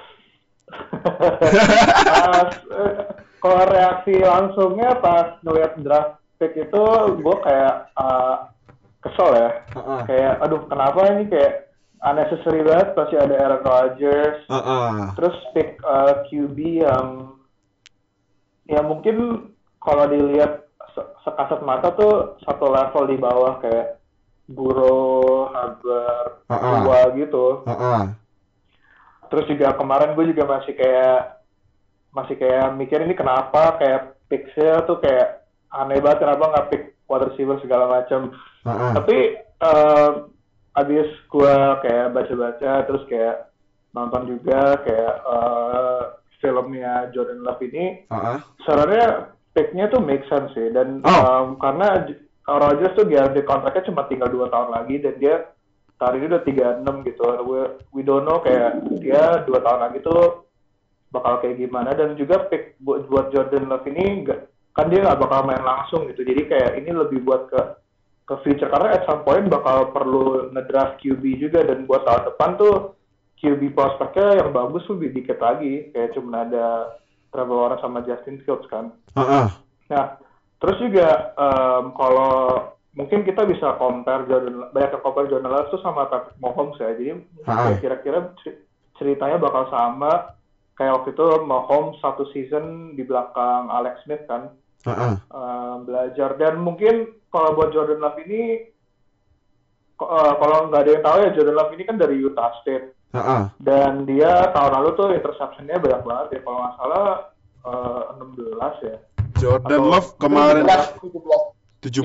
kalau reaksi langsungnya pas ngeliat draft pick itu, gue kayak kesel ya. Kayak aduh kenapa ini kayak unnecessary banget, pasti ada Aaron Rodgers, terus pick QB yang ya mungkin kalau dilihat sekasat mata tuh satu level di bawah kayak Burrow, Haber, Tua gitu. Terus juga kemarin gue juga masih kayak mikir ini kenapa kayak pick-nya tuh kayak aneh banget, kenapa nggak pick wide receiver segala macam. Tapi abis gue kayak baca-baca terus kayak nonton juga kayak filmnya Jordan Love ini, sebenarnya picknya tuh make sense sih. Dan karena Rodgers tuh guarantee kontraknya cuma tinggal 2 tahun lagi dan dia tahun ini udah 36 gitu. We don't know kayak dia 2 tahun lagi tuh bakal kayak gimana. Dan juga pick buat Jordan Love ini kan dia nggak bakal main langsung gitu, jadi kayak ini lebih buat ke ke future, karena at some point bakal perlu ngedraft QB juga, dan buat tahun depan tuh QB prospeknya yang bagus lebih dikit lagi, kayak cuma ada Trevor Lawrence sama Justin Fields kan. Nah, terus juga kalau mungkin kita bisa compare Jordan Love tuh sama Patrick Mahomes ya. Jadi kira-kira ceritanya bakal sama kayak waktu itu Mahomes satu season di belakang Alex Smith kan. Belajar, dan mungkin kalau buat Jordan Love ini kalau nggak ada yang tahu ya, Jordan Love ini kan dari Utah State. Dan dia tahun lalu tuh interception-nya banyak banget ya, kalau nggak salah 16 ya. Jordan Love kemarin 17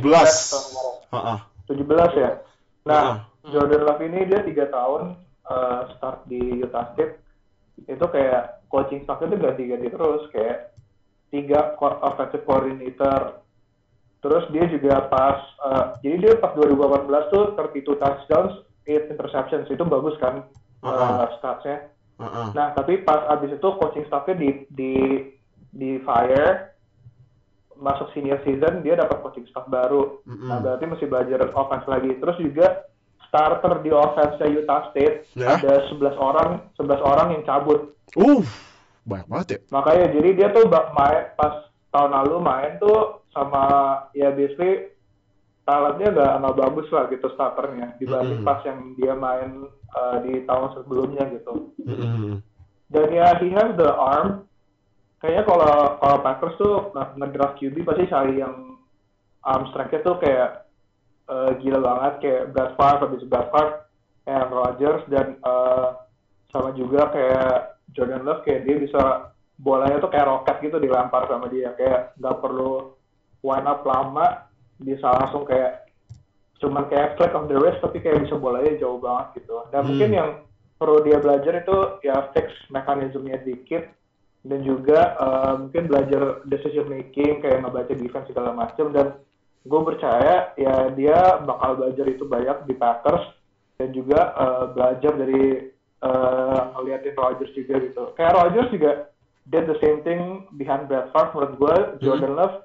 ya. Nah, Jordan Love ini dia 3 tahun start di Utah State. Itu kayak coaching staff-nya tuh ganti-ganti terus, kayak 3 offensive coordinator. Terus dia juga jadi dia pas 2018 tuh 32 touchdowns, 8 interceptions, itu bagus kan stats-nya. Nah, tapi pas abis itu coaching staff-nya di fire, masuk senior season, dia dapat coaching staff baru. Nah, berarti mesti belajar offense lagi. Terus juga starter di offense Utah State ada 11 orang yang cabut. Banyak banget ya. Makanya jadi dia tuh main pas tahun lalu main tuh sama ya basically talentnya nggak bagus lah gitu starternya dibanding pas yang dia main di tahun sebelumnya gitu. Dan ya he has the arm. Kayaknya kalau Packers tuh ngedraft QB pasti cari yang arm strength-nya tuh kayak gila banget, kayak Brett Favre, Aaron Rodgers, dan sama juga kayak Jordan Love, kayak dia bisa bolanya tuh kayak roket gitu dilempar sama dia, kayak nggak perlu wind up lama, bisa langsung kayak cuman kayak flick of the wrist, tapi kayak bisa bolanya jauh banget gitu. Dan mungkin yang perlu dia belajar itu ya fix mekanismenya dikit, dan juga mungkin belajar decision making, kayak ngebaca defense segala macam. Dan gue percaya ya dia bakal belajar itu banyak di Packers, dan juga belajar dari ngeliatin Rodgers juga gitu. Kayak Rodgers juga did the same thing behind Brett Favre menurut gue. Jordan Love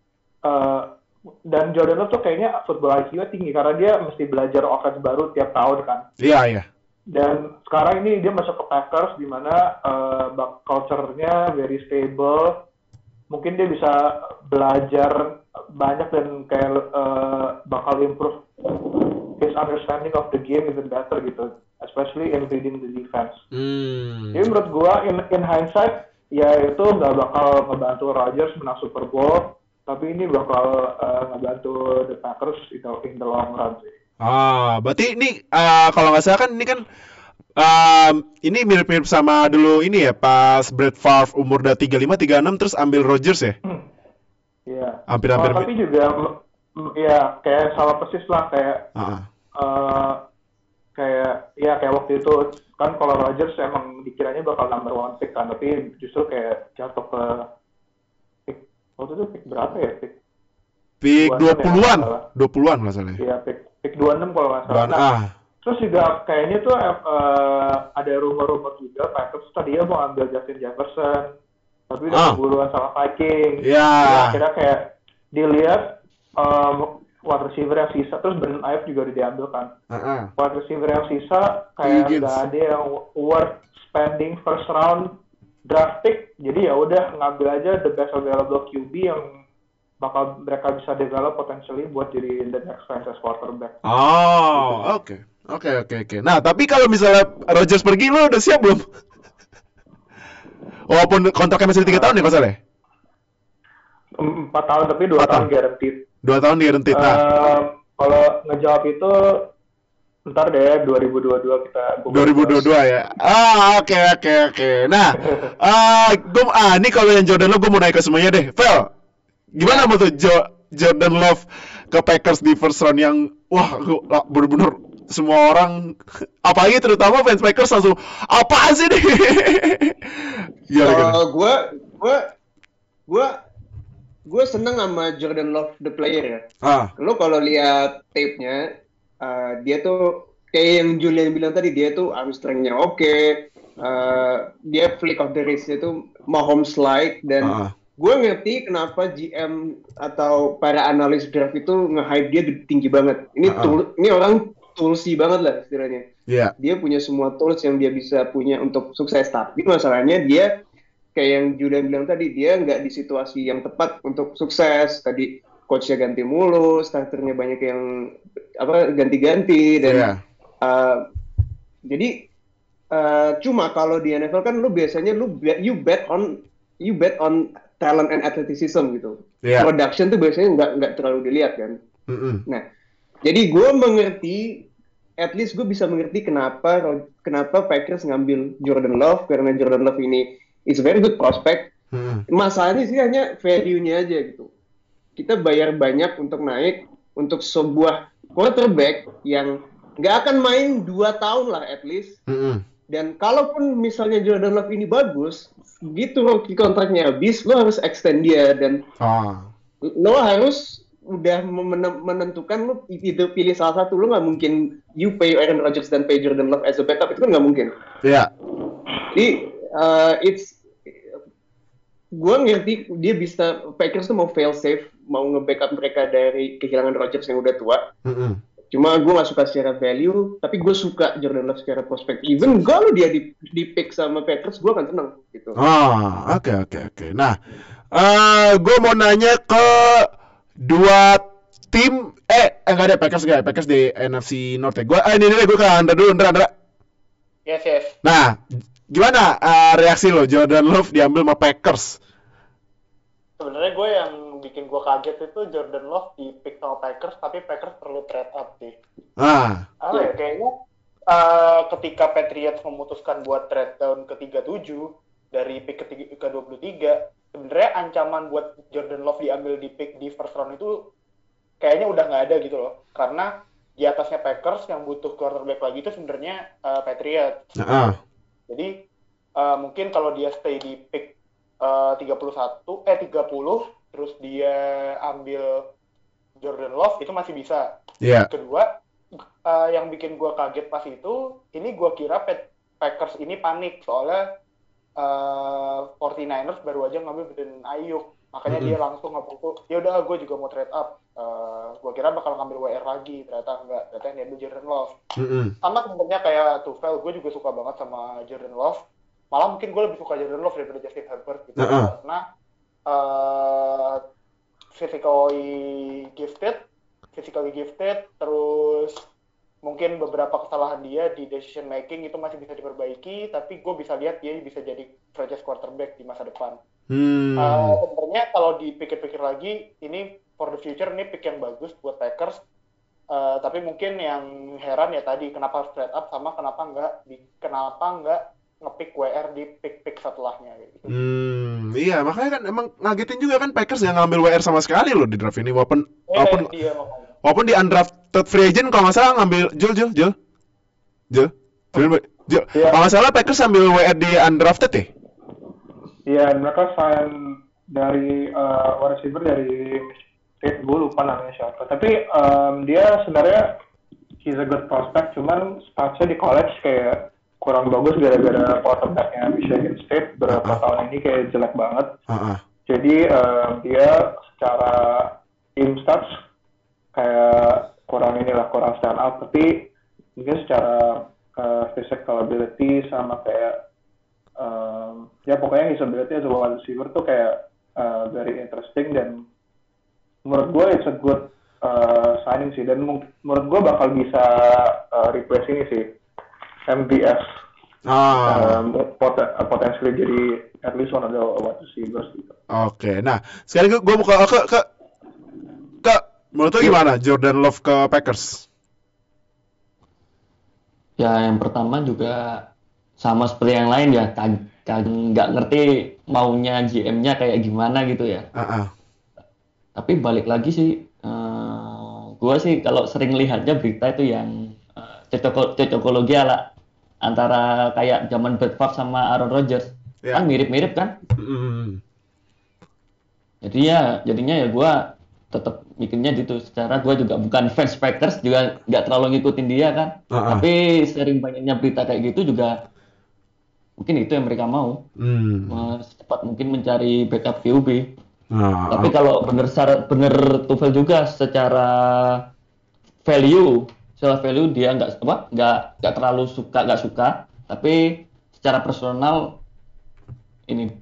dan Jordan Love tuh kayaknya football IQ-nya tinggi karena dia mesti belajar offense baru tiap tahun kan. Iya. Dan sekarang ini dia masuk ke Packers di mana culture-nya very stable. Mungkin dia bisa belajar banyak dan kayak bakal improve his understanding of the game even better gitu, especially in reading the defense. Jadi menurut gua in hindsight ya itu nggak bakal ngebantu Rodgers menang Super Bowl, tapi ini bakal ngebantu the Packers in the long run sih. Berarti ini kalau nggak salah kan ini kan ini mirip-mirip sama dulu ini ya, pas Brett Favre umur udah 35-36 terus ambil Rodgers ya? Iya. Hampir-hampir. Tapi juga ya kayak sama persis lah kayak kayak waktu itu kan kalau Rodgers emang dikiranya bakal number 1 pick kan, tapi justru kayak jatuh ke pick waktu itu pick berapa ya, pick 20-an nggak salah. Iya, pick 26 kalau nggak salah. Nah, terus juga kayaknya tuh ada rumor-rumor juga Packers tadinya mau ambil Justin Jefferson, tapi udah keburuan sama Vikings. Yeah. Akhirnya kayak dilihat wide receiver yang sisa, terus Brandon Ayuk juga udah diambil kan. Wide receiver yang sisa kayak nggak ada yang worth spending first round draft pick, jadi ya udah ngambil aja the best available QB yang bakal mereka bisa develop potentially buat jadi the next franchise quarterback. Oke. Nah, tapi kalau misalnya Rodgers pergi, lo udah siap belum? Walaupun kontraknya masih 3 tahun ya, Mas Ale? 4 tahun, tapi 2 tahun guaranteed. 2 tahun guaranteed. Kalau ngejawab itu ntar deh 2022 kita 2022 ya. Oke. Nah, ini kalau yang Jordan Love gue mau naik ke semuanya deh. Vel, gimana menurut Jordan Love ke Packers di first round yang bener-bener semua orang, apalagi terutama fans Packers langsung apaan sih nih? Gue seneng sama Jordan Love the player ya. Lo kalau lihat tape-nya, dia tuh kayak yang Julian bilang tadi, dia tuh arm strength-nya oke. Dia flick of the wrist-nya tuh Mahomes-like, dan gue ngerti kenapa GM atau para analis draft itu nge-hype dia tinggi banget. Ini orang toolsy banget lah istilahnya. Yeah. Dia punya semua tools yang dia bisa punya untuk sukses. Tapi masalahnya dia kayak yang Julian bilang tadi, dia nggak di situasi yang tepat untuk sukses. Tadi coachnya ganti mulu, starternya banyak yang ganti-ganti dan jadi cuma kalau di NFL kan lu biasanya you bet on talent and athleticism gitu. Yeah. Production tuh biasanya nggak terlalu dilihat kan. Nah, jadi gue mengerti, at least gue bisa mengerti kenapa Packers ngambil Jordan Love, karena Jordan Love ini is a very good prospect. Masalahnya sih hanya value-nya aja gitu. Kita bayar banyak untuk naik untuk sebuah quarterback yang nggak akan main 2 tahun lah at least. Dan kalaupun misalnya Jordan Love ini bagus, gitu rookie kontraknya habis, lo harus extend dia dan lo harus udah menentukan lo itu pilih salah satu. Lo nggak mungkin you pay Aaron Rodgers dan pay Jordan Love as a backup, itu kan nggak mungkin. Iya. Jadi gue ngerti dia bisa, Packers tuh mau fail safe, mau nge-backup mereka dari kehilangan Rodgers yang udah tua. Cuma gue gak suka secara value, tapi gue suka Jordan Love secara prospek. Even kalau dia di pick sama Packers, gue akan seneng gitu. Oke. Nah, gue mau nanya ke dua tim. Enggak ada Packers di NFC North. Gue ke Andra dulu, Andra. Yes. Nah, gimana reaksi lo Jordan Love diambil sama Packers? Sebenarnya gue yang bikin gue kaget itu Jordan Love di pick sama Packers, tapi Packers perlu trade up sih. Kayaknya ketika Patriots memutuskan buat trade down ke 37 dari pick ke 23, sebenarnya ancaman buat Jordan Love diambil di pick di first round itu kayaknya udah nggak ada gitu loh. Karena di atasnya Packers yang butuh quarterback lagi itu sebenarnya Patriots. Jadi mungkin kalau dia stay di pick 30 terus dia ambil Jordan Love itu masih bisa. Kedua, yang bikin gue kaget pas itu, ini gue kira Packers ini panik soalnya 49ers baru aja ngambil Brandon Ayuk, makanya dia langsung ngaku, ya udah gue juga mau trade up. Gue kira bakal ngambil WR lagi, ternyata enggak, ternyata yang diambil Jordan Love. Sama sebenarnya kayak Tufel, gue juga suka banget sama Jordan Love. Malah mungkin gue lebih suka Jordan Love daripada Justin Herbert gitu. Karena physically gifted, terus mungkin beberapa kesalahan dia di decision making itu masih bisa diperbaiki, tapi gue bisa lihat dia bisa jadi franchise quarterback di masa depan. Sebenarnya kalau dipikir-pikir lagi, ini for the future ini pick yang bagus buat Packers. Tapi mungkin yang heran ya tadi kenapa harus trade up, sama kenapa nggak ngepick WR di pick setelahnya gitu. Iya, makanya kan emang ngagetin juga kan Packers yang ngambil WR sama sekali loh di draft ini, walaupun di undrafted free agent kalau nggak salah ngambil Jul. Kalau nggak salah Packers ambil WR di undrafted ya? Iya, mereka sign dari wide receiver dari State, gue lupa namanya siapa. Tapi dia sebenarnya he's a good prospect, cuman statsnya di college kayak kurang bagus gara-gara quarterbacknya Michigan State beberapa tahun ini kayak jelek banget. Jadi dia secara team stats kayak kurang stand out, tapi mungkin secara physical ability sama kayak ya pokoknya his ability as a wide receiver tuh kayak very interesting, dan menurut gue it's a good signing sih, dan menurut gue bakal bisa replace ini sih MVS. Potentially jadi at least one of the wide receivers gitu. Oke, nah sekarang gue buka ke menurut lo gimana Jordan Love ke Packers? Ya yang pertama juga sama seperti yang lain ya, nggak ngerti maunya GM-nya kayak gimana gitu ya. Tapi balik lagi sih, gue sih kalau sering lihatnya berita itu yang cocokologi ala antara kayak zaman Brett Favre sama Aaron Rodgers, kan mirip-mirip kan. Jadinya ya gue tetap mikirnya gitu. Secara gue juga bukan fans Packers, juga nggak terlalu ngikutin dia kan. Tapi sering banyaknya berita kayak gitu juga Mungkin itu yang mereka mau. Secepat mungkin mencari backup QB. Tapi kalau bener Tuchel juga secara value dia nggak terlalu suka, tapi secara personal ini.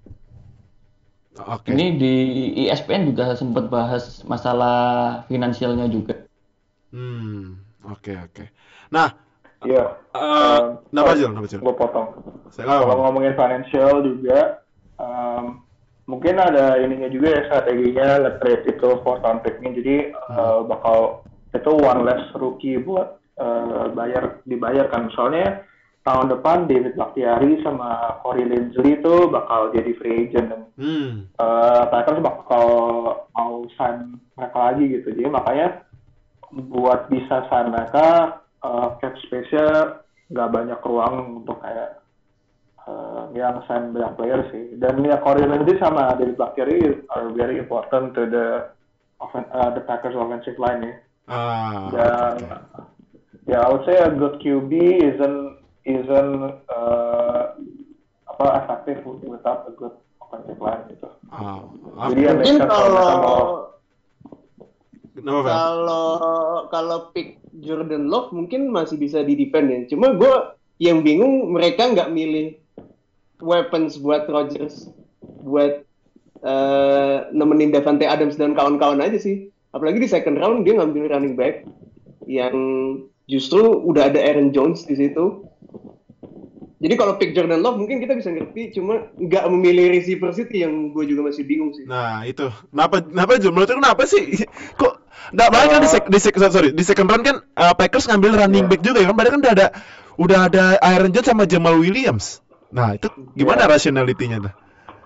Okay. Ini di ESPN juga sempat bahas masalah finansialnya juga. Oke. Nah, iya. Kenapa Jul? Gue potong. Kalau ngomongin financial juga, mungkin ada ininya juga ya, strateginya nge-trade itu for round pick-nya. Jadi bakal itu one less rookie buat dibayarkan. Soalnya tahun depan David Bakhtiari sama Corey Linsley itu bakal jadi free agent dan Packers bakal mau sign mereka lagi gitu. Jadi makanya buat bisa sign mereka cap space-nya nggak banyak ruang untuk kayak yang sign banyak player sih. Dan ya Corey Linsley sama David Bakhtiari are very important to the Packers offensive line ya. Dan I would say a good QB isn't effective without a good offensive line gitu. Jadi mungkin kalau pick Jordan Love mungkin masih bisa di-defend ya. Cuma gue yang bingung mereka nggak milih weapons buat Rodgers buat nemenin Davante Adams dan kawan-kawan aja sih. Apalagi di second round dia ngambil running back yang justru udah ada Aaron Jones di situ. Jadi kalau pick Jordan Love mungkin kita bisa ngerti, cuma nggak memilih receiver City yang gue juga masih bingung sih. Nah itu, kenapa Jul? Menurut lu kenapa sih? Kok nggak banyak kan di second round kan Packers ngambil running back juga ya kan? Padahal kan udah ada Aaron Jones sama Jamal Williams. Nah itu gimana rationality-nya tuh?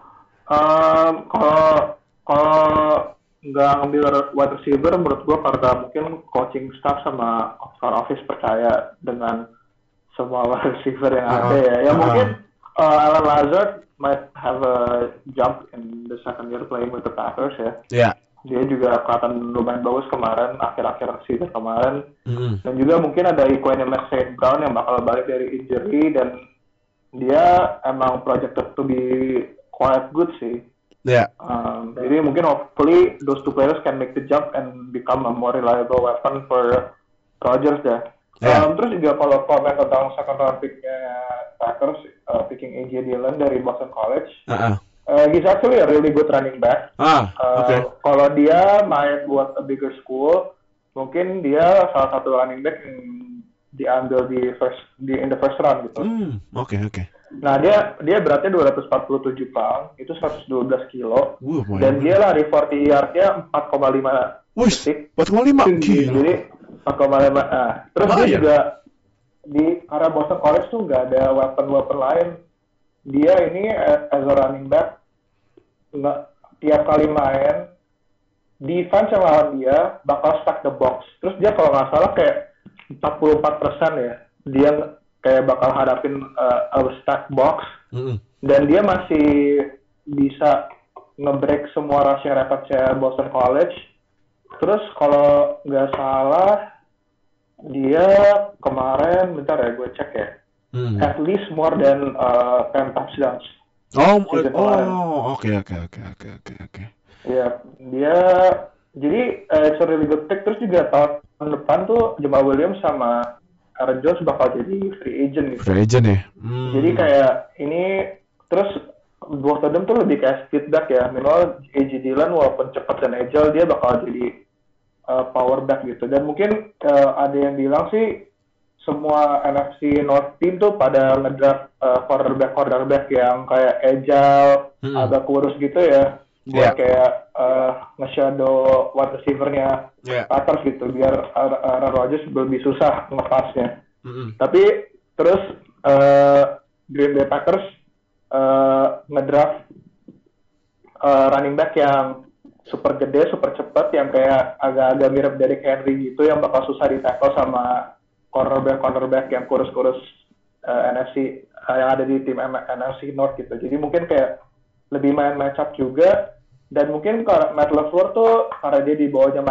Kalau nggak ngambil wide receiver, menurut gue karena mungkin coaching staff sama front office percaya dengan semua wide receiver yang ada ya. Ya mungkin Alan Lazard might have a jump in the second year playing with the Packers ya. Yeah. Dia juga kelihatan lumayan bagus kemarin, akhir-akhir season kemarin. Dan juga mungkin ada Equanimeous St. Brown yang bakal balik dari injury dan dia emang projected to be quite good sih. Yeah. Jadi mungkin hopefully those two players can make the jump and become a more reliable weapon for Rodgers ya. Terus juga kalau komen tentang second round pick-nya Packers, picking A.J. Dillon dari Boston College, he's actually a really good running back. Kalau dia main buat a bigger school, mungkin dia salah satu running back yang diambil in the first round gitu. Oke. Nah dia beratnya 247 pound, itu 112 kilo, dan dia lari 40 yard-nya 4,5 detik. 4,5? Jadi 4,5. Terus dia juga karena Boston College tuh nggak ada weapon lain. Dia ini as a running back nggak tiap kali main defense yang lawan dia bakal stack the box. Terus dia kalau nggak salah kayak 44% ya. Dia kayak bakal hadapin a stack box. Dan dia masih bisa nge-break semua rushing records-nya Boston College. Terus kalau nggak salah dia kemarin, bentar ya gue cek ya, at least more than 10 touchdowns. Oke. Ya, dia jadi it's a really good pick. Terus juga tahun depan tuh Jamal Williams sama Aaron Jones bakal jadi free agent gitu. Free agent ya. Jadi kayak ini terus both of them tuh lebih kayak feedback ya. Minimal A.J. Dillon walaupun cepat dan agile dia bakal jadi power back gitu. Dan mungkin ada yang bilang sih semua NFC North team tuh pada ngedraft quarterback yang kayak agile, agak kurus gitu ya. Buat kayak nge-shadow wide receiver-nya Packers gitu biar Aaron Rodgers lebih susah ngepasnya. Tapi terus Green Bay Packers ngedraft running back yang super gede, super cepat, yang kayak agak-agak mirip Derrick Henry gitu, yang bakal susah di-tackle sama cornerback yang kurus-kurus NFC yang ada di tim NFC North gitu. Jadi mungkin kayak lebih main match up juga. Dan mungkin kalau Matt LaFleur tuh karena dia di bawahnya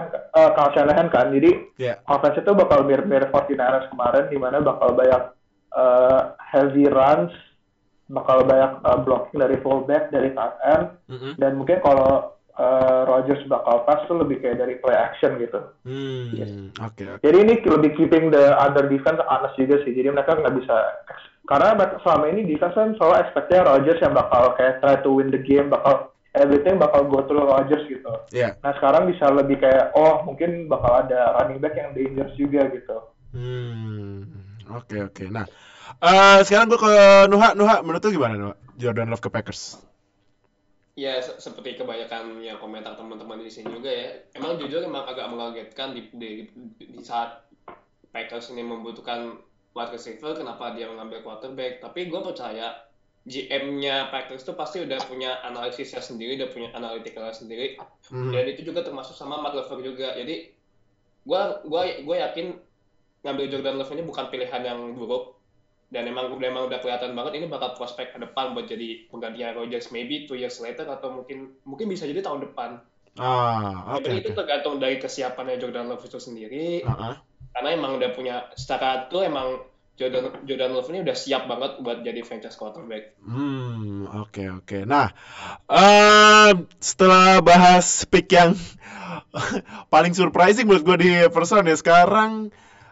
Kyle Shanahan kan, jadi offense itu bakal mirip 49ers kemarin, di mana bakal banyak heavy runs, bakal banyak blocking dari fullback, dari tight end, dan mungkin kalau Rodgers bakal pass tuh lebih kayak dari play action gitu. Okay. Jadi ini lebih keeping the other defense honest juga sih. Jadi mereka nggak bisa, karena selama ini defense kan selalu expect-nya Rodgers yang bakal kayak try to win the game, bakal everything bakal go through Rodgers gitu. Yeah. Nah sekarang bisa lebih kayak mungkin bakal ada running back yang dangerous juga gitu. Oke. Nah, sekarang gue ke Nuha, menurut lu gimana Nuha? Jordan Love ke Packers? Ya, seperti kebanyakan yang komentar teman-teman di sini juga ya. Emang jujur agak mengagetkan di saat Packers ini membutuhkan wide receiver, kenapa dia mengambil quarterback. Tapi gue percaya GM-nya Packers itu pasti udah punya analisisnya sendiri, udah punya analytical sendiri. Dan itu juga termasuk sama Matt LaFleur juga. Jadi gue yakin ngambil Jordan Love ini bukan pilihan yang buruk. Dan emang udah kelihatan banget ini bakal prospek ke depan buat jadi penggantinya Rodgers, maybe 2 years later atau mungkin bisa jadi tahun depan. Tapi itu tergantung dari kesiapannya Jordan Love itu sendiri. Karena emang udah punya, secara itu emang Jordan Love ini udah siap banget buat jadi franchise quarterback. Oke. Nah, setelah bahas pick yang paling surprising menurut gue di first round ya, sekarang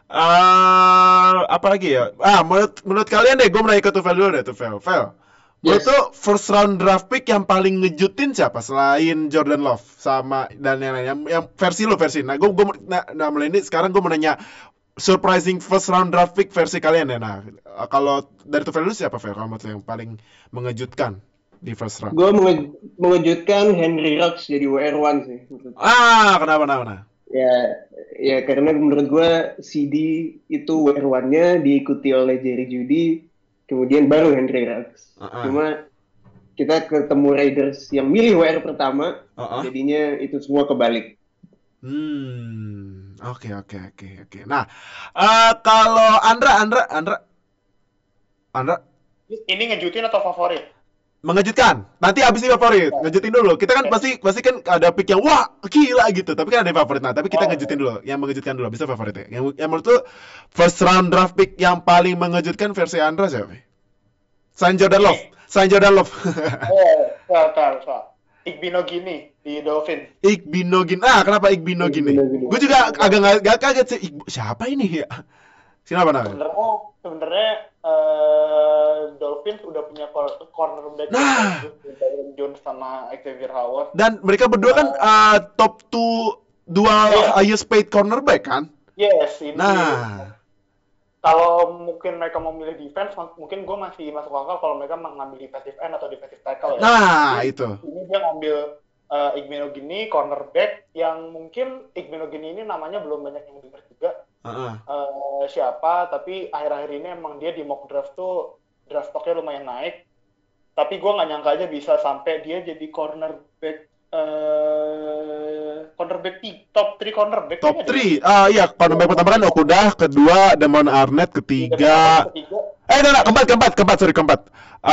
apa lagi ya? Menurut kalian deh, gue mulai ke Tufel dulu deh, Tufel. Menurut tuh first round draft pick yang paling ngejutin siapa selain Jordan Love sama dan yang lain? Yang versi. Nah, gue mulai ini sekarang gue mau nanya surprising first round draft pick versi kalian ya. Nah, kalau dari Tufel dulu siapa, Fel? Kalau menurut yang paling mengejutkan di first round? Gue mengejutkan Henry Ruggs jadi WR1 sih. Kenapa? Ya karena menurut gue CD itu WR1-nya diikuti oleh Jerry Jeudy, kemudian baru Henry Ruggs. Cuma kita ketemu Raiders yang milih WR pertama, jadinya itu semua kebalik. Oke. Nah, kalau Andra, ini ngejutin atau favorit? Mengejutkan. Nanti abis ini favorit. Ngejutin dulu. Kita kan pasti kan ada pick yang wah gila gitu. Tapi kan ada yang favorit. Nah, tapi kita ngejutin dulu. Yang mengejutkan dulu. Bisa favoritnya. Yang menurut lu first round draft pick yang paling mengejutkan versi Andra siapa? Selain Jordan Love. Igbinogini di Dolphin. Kenapa Igbinogini? Gue juga agak gak kaget sih. Siapa ini ya? Kenapa namanya? Sebenarnya Dolphins udah punya cornerback Jones sama Xavier Howard. Dan mereka berdua kan top 2 highest paid cornerback kan? Yes, ini. Kalau mungkin mereka mau milih defense, mungkin gue masih masuk akal kalau mereka mengambil defensive end atau defensive tackle ya. Itu. Ini dia ngambil Igbinogini, cornerback, yang mungkin Igbinogini ini namanya belum banyak yang dengar juga. Siapa, tapi akhir-akhir ini emang dia di mock draft tuh draft stocknya lumayan naik, tapi gue nggak nyangka aja bisa sampai dia jadi cornerback top 3 cornerback. Iya, cornerback pertama kan Okudah, kedua Damon Arnett, ketiga keempat.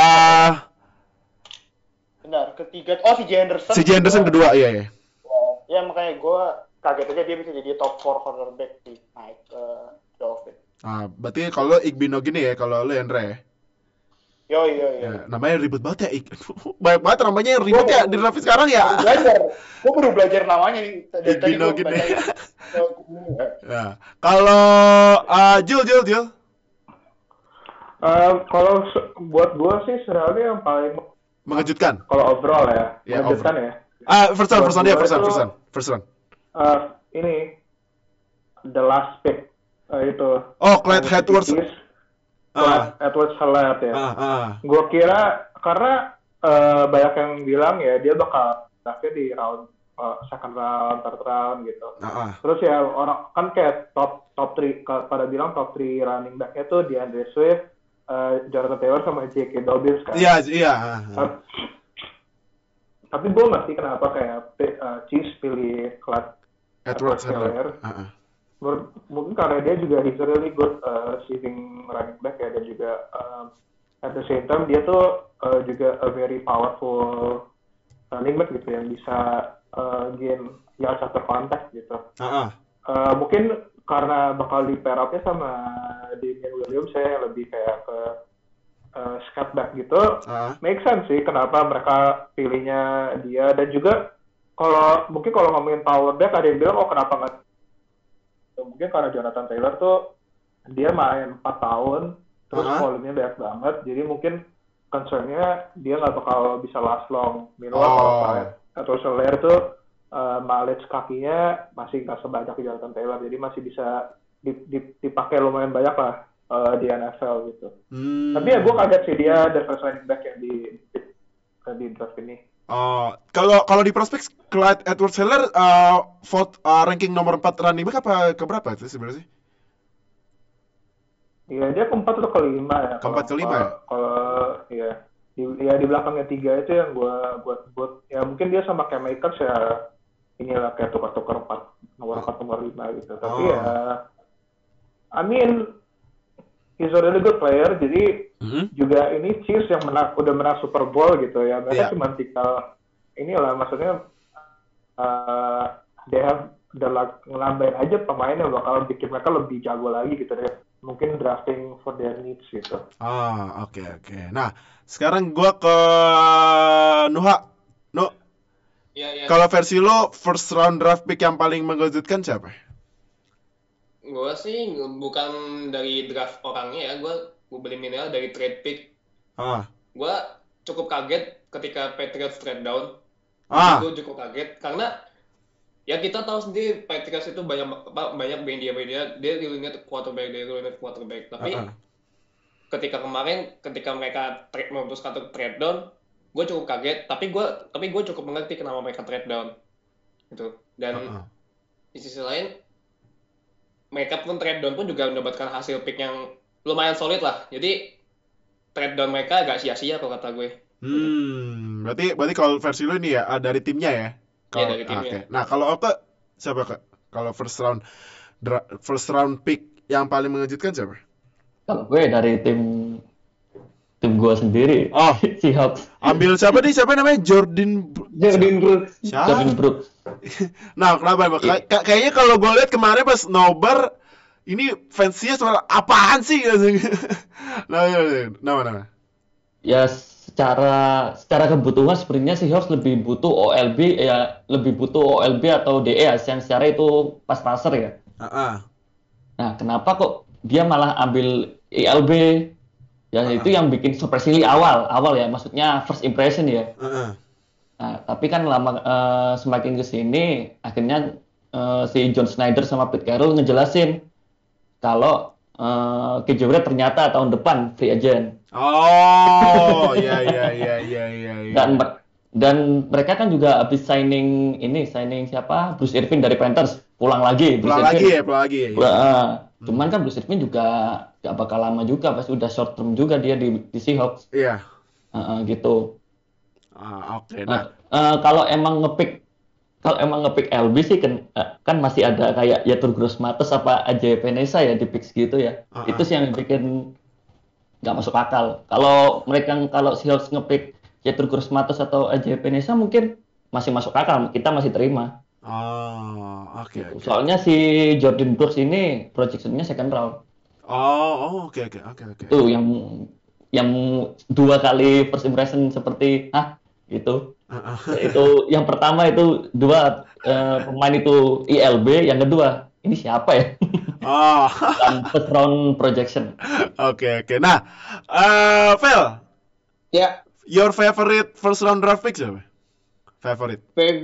Benar, ketiga si Henderson kedua, iya. Ya makanya gue kaget aja dia bisa jadi top 4 cornerback di naik Dolphin. Berarti kalau Igbinogini ya, kalau lu Andre ya? Yo. Ya, namanya ribet banget ya. Banyak banget namanya yang ribet ya di draft sekarang ya. Gue baru belajar namanya nih. Igbinogini. Ya. Kalau Jul. Kalau buat gue sih sebenarnya yang paling mengejutkan. Kalau overall ya, mengejutkan ya. First round. Ini the last pick itu. Clyde Edwards. Edwards-Helaire ya. Gue kira karena banyak yang bilang ya dia bakal draftnya di round second round, third round gitu. Terus ya orang kan kayak top 3 pada bilang top 3 running back-nya tuh DeAndre Swift, Jonathan Taylor sama J.K. Dobbins kan. Iya. Tapi gue ngerti kenapa kayak Chiefs pilih Clyde Edwards-Helaire. Mungkin karena dia juga he's a really good receiving running back ya, dan juga at the same time dia tuh juga a very powerful running back gitu yang bisa gain yards after contact gitu. Mungkin karena bakal di pair up-nya sama Damian Williams, saya lebih kayak ke scat back gitu. Make sense sih kenapa mereka pilihnya dia. Dan juga kalau ngomongin power back, ada yang bilang kenapa nggak, mungkin karena Jonathan Taylor tuh dia main 4 tahun terus volume-nya banyak banget, jadi mungkin concern-nya dia nggak bakal bisa last long. Kalau Soler tuh mileage kakinya masih nggak sebanyak Jonathan Taylor, jadi masih bisa dipakai lumayan banyak lah di NFL gitu. Tapi ya gue kaget sih dia the first running back yang di draft ini. Kalau di prospek Clyde Edwards-Helaire ranking nomor 4 running back apa keberapa itu sebenarnya sih? Iya, dia keempat atau kelima ya. Keempat kelima ya? Kalau di belakangnya 3 itu yang gue buat ya mungkin dia sama Cam Akers ya inilah kayak tukar-tukar nomor 4 nomor 5 gitu. Tapi ya I mean he's a really good player, jadi juga ini Chiefs yang udah menang Super Bowl gitu ya. Mereka cuma tinggal inilah, maksudnya they have ngelambain aja pemain yang bakal bikin mereka lebih jago lagi gitu deh. Mungkin drafting for their needs gitu. Oke. Nah, sekarang gua ke Nuha. Iya. Kalau versi lo, first round draft pick yang paling mengejutkan siapa? Gue sih bukan dari draft orangnya ya, gue beli mineral dari trade pick. Gue cukup kaget ketika Patriots trade down. Gue cukup kaget karena ya kita tahu sendiri Patriots itu banyak media dia dilihat quarterback. Tapi ketika mereka memutuskan untuk trade down, gue cukup kaget. Tapi gue cukup mengerti kenapa mereka trade down gitu. Dan di sisi lain mereka pun trade down pun juga mendapatkan hasil pick yang lumayan solid lah. Jadi trade down mereka agak sia-sia kalau kata gue. Berarti kalau versi lu ini ya dari timnya ya? Iya, dari timnya. Okay. Nah, kalau Oke siapa Kak? Kalau first round pick yang paling mengejutkan siapa? Kalau gue dari tim gue sendiri. Seahawks. Ambil siapa nih? Siapa namanya? Jordan Brooks. Jordan Brooks. Nah, kenapa? Kayaknya kalau gue lihat kemarin pas nobar ini fansnya soal apaan sih? Nama. Ya secara kebutuhan sebenarnya Seahawks lebih butuh OLB atau DE ya, yang secara itu pas passer ya. Nah, kenapa kok dia malah ambil ELB? Ya itu yang bikin surprisingly awal ya, maksudnya first impression ya. Nah, tapi kan semakin kesini akhirnya si John Schneider sama Pete Carroll ngejelasin kalau KJ Wright ternyata tahun depan free agent. Iya. Dan mereka kan juga habis signing siapa? Bruce Irvin dari Panthers, pulang lagi. Cuman kan Bruce Irvin juga gak bakal lama juga, pasti udah short term juga dia di Seahawks. Iya. Gitu. Oke. Kalau emang ngepick LB sih kan masih ada kayak Yetur Gross-Matos apa aja Penesa ya di picks gitu ya. Itu sih yang bikin nggak masuk akal. Kalau Seahawks ngepick Yetur Gross-Matos atau aja Penesa mungkin masih masuk akal, kita masih terima. Oke. Soalnya si Jordan Brooks ini projection-nya second round. Oke. Tuh yang 2 kali first impression seperti gitu. Itu yang pertama itu 2 pemain itu ILB, yang kedua ini siapa ya? Dan first round projection. Oke. Nah, Vel. Ya. Your favorite first round draft pick siapa? Favorite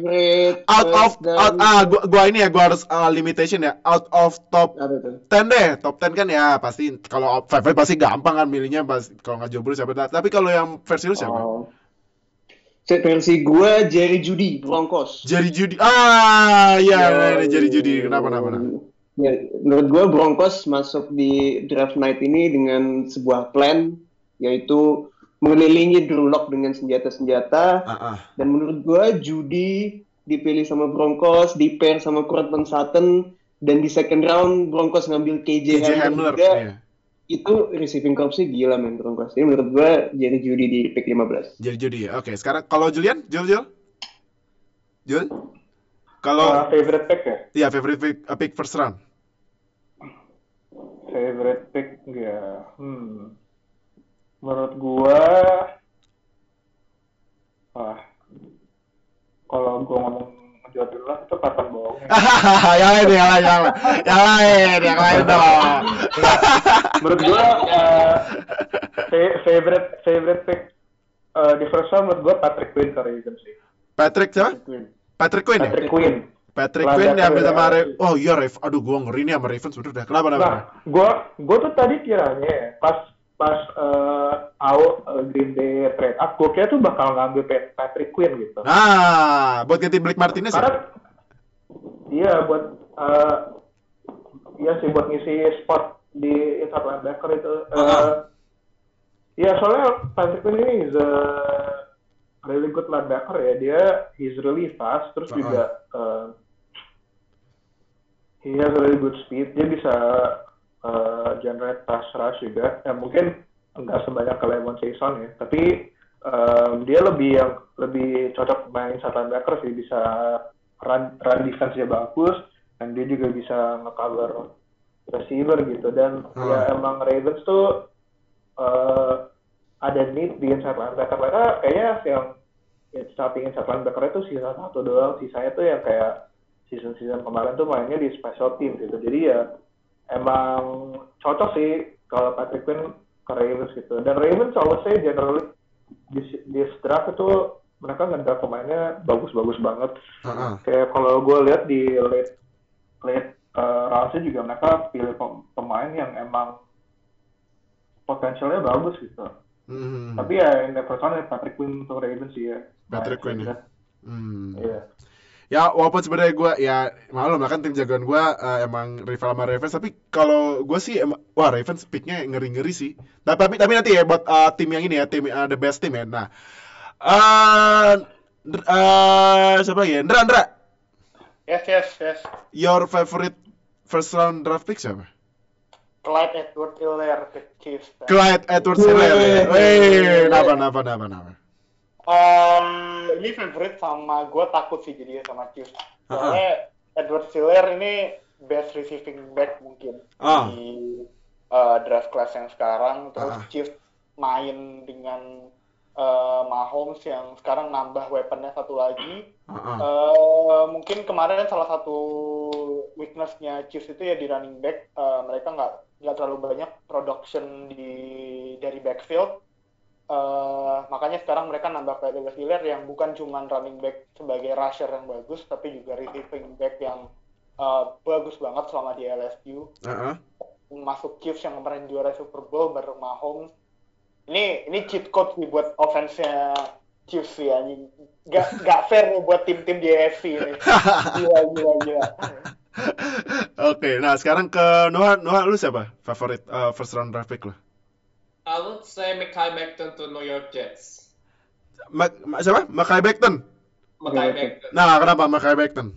gua harus limitation ya, out of top 10 deh. Top 10 kan ya pasti, kalau favorite pasti gampang kan milihnya, kalau nggak jomblo siapa. Tapi kalau yang versi lu siapa? Versi gua Jerry Jeudy Broncos. Jerry Jeudy Jerry Jeudy kenapa? Ya, menurut gua Broncos masuk di draft night ini dengan sebuah plan, yaitu mengelilingi Drew Lock dengan senjata-senjata. Dan menurut gue Jeudy dipilih sama Broncos, di pair sama Courtland Sutton, dan di second round Broncos ngambil KJ Hamler juga. Iya. Itu receiving corps-nya gila men Broncos. Jadi menurut gue Jerry Jeudy di pick 15. Jerry Jeudy ya. Oke, sekarang kalau Julian? Jul? Kalau favorite pick ya? Iya, favorite pick first round. favorite pick ya. Menurut gua, kalau gua ngomong Joe Dumars itu kapan bohongnya. yang lain dong. Menurut gua favorite pick di first round menurut gua Patrick Quinn ke Ravens sih. Patrick siapa? Patrick Quinn ya? Patrick Quinn yang sama oh iya aduh gua ngeri nih sama Ravens udah kenapa? Nah, gua tuh tadi kiranya pas Green Bay trade up, gua kira tuh bakal ngambil Patrick Quinn gitu. Nah, buat ganti Blake Martinez ya? Iya, buat ngisi spot di inside linebacker itu. Iya, soalnya Patrick Quinn ini is a really good linebacker ya. He's really fast, terus juga he has really good speed. Dia bisa generate pass rush juga. Ya mungkin enggak sebanyak Lemon Saison ya, tapi dia lebih cocok main inside linebacker sih, bisa run defense-nya bagus, dan dia juga bisa nge-cover receiver gitu. Dan ya emang Ravens tuh ada need di inside linebacker. Mereka kayaknya yang starting inside linebacker itu sisa 1 doang, sisanya tuh yang kayak season kemarin tuh mainnya di special team gitu. Jadi ya emang cocok sih kalau Patrick Quinn ke Ravens gitu. Dan Ravens selalu say generally di draft itu mereka ngedraft pemainnya bagus-bagus banget. Kayak kalau gue lihat di late rounds juga mereka pilih pemain yang emang potensialnya bagus gitu. Tapi ya in the first round Patrick Quinn untuk Ravens sih ya. Patrick Quinn ya. Iya. Ya walaupun sebenarnya gue ya maklum lah kan tim jagoan gue emang rival sama Ravens, tapi kalau gue sih wah Ravens picknya ngeri sih. Tapi nanti ya buat tim yang ini ya, tim the best team ya. Nah siapa lagi ya? Ndra. Yes. Your favorite first round draft pick siapa? Clyde Edwards-Helaire ke Chiefs. Clyde Edwards-Helaire. Wih, kenapa? Ini favorite sama gue takut sih jadinya sama Chiefs. Soalnya Edwards-Helaire ini best receiving back mungkin di draft class yang sekarang. Terus Chiefs main dengan Mahomes yang sekarang nambah weaponnya satu lagi. Mungkin kemarin salah satu weaknessnya Chiefs itu ya di running back. Mereka nggak terlalu banyak production dari backfield. Makanya sekarang mereka nambah Clyde Edwards-Helaire yang bukan cuma running back sebagai rusher yang bagus, tapi juga receiving back yang bagus banget selama di LSU. Masuk Chiefs yang kemarin juara Super Bowl bareng Mahomes. Ini cheat code nih buat offense-nya Chiefs ya. Gak fair nih buat tim-tim di AFC ini. Gila. Oke, nah sekarang ke Noah lu siapa? Favorit first round draft pick lu? I would say Mekhi Becton to New York Jets. Siapa? Mekhi Becton. Nah, kenapa Mekhi Becton?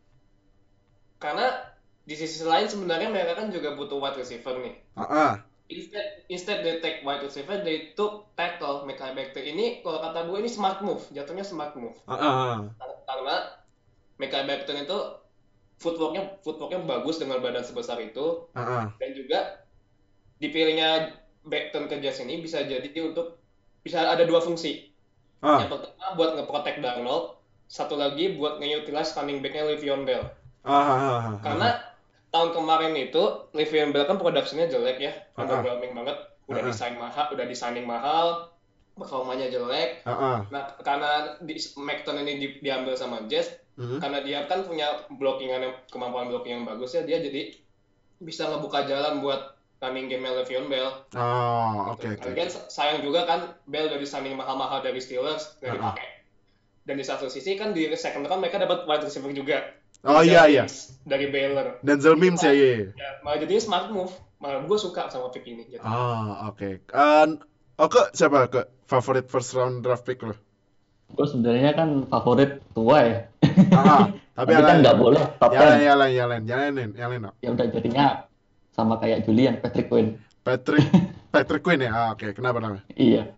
Karena di sisi lain sebenarnya mereka kan juga butuh wide receiver nih. Instead they take wide receiver, they took tackle Mekhi Becton. Ini kalau kata gue ini smart move, jatuhnya smart move. Karena Mekhi Becton itu footworknya bagus dengan badan sebesar itu. Dan juga dipilihnya Becton ke Jets ini bisa ada 2 fungsi. Yang pertama buat nge-protect Darnold, satu lagi buat nge-utilize running back-nya Le'Veon Bell. Karena tahun kemarin itu Le'Veon Bell kan production-nya jelek ya, underwhelming banget, udah designing mahal, performanya jelek. Nah, karena Becton ini diambil sama Jets, karena dia kan punya kemampuan blocking yang bagus ya, dia jadi bisa ngebuka jalan buat running game Le'Veon Bell. Oke. Lagian sayang juga kan Bell dari signing mahal-mahal dari Steelers nggak dipakai. Dan di satu sisi kan di second round mereka dapat wide receiver juga. Iya. Dari Baylor. Denzel Mims ya. Malah jadinya smart move. Malah gue suka sama pick ini. Gitu. Oke. Siapa ke favorit first round draft pick lo? Gue sebenarnya kan favorit tua ya. Tapi kan nggak boleh top 10. Jalanin. Ya udah jadinya sama kayak Julian, Patrick Quinn. Patrick Quinn ya? Oke. Kenapa? Iya.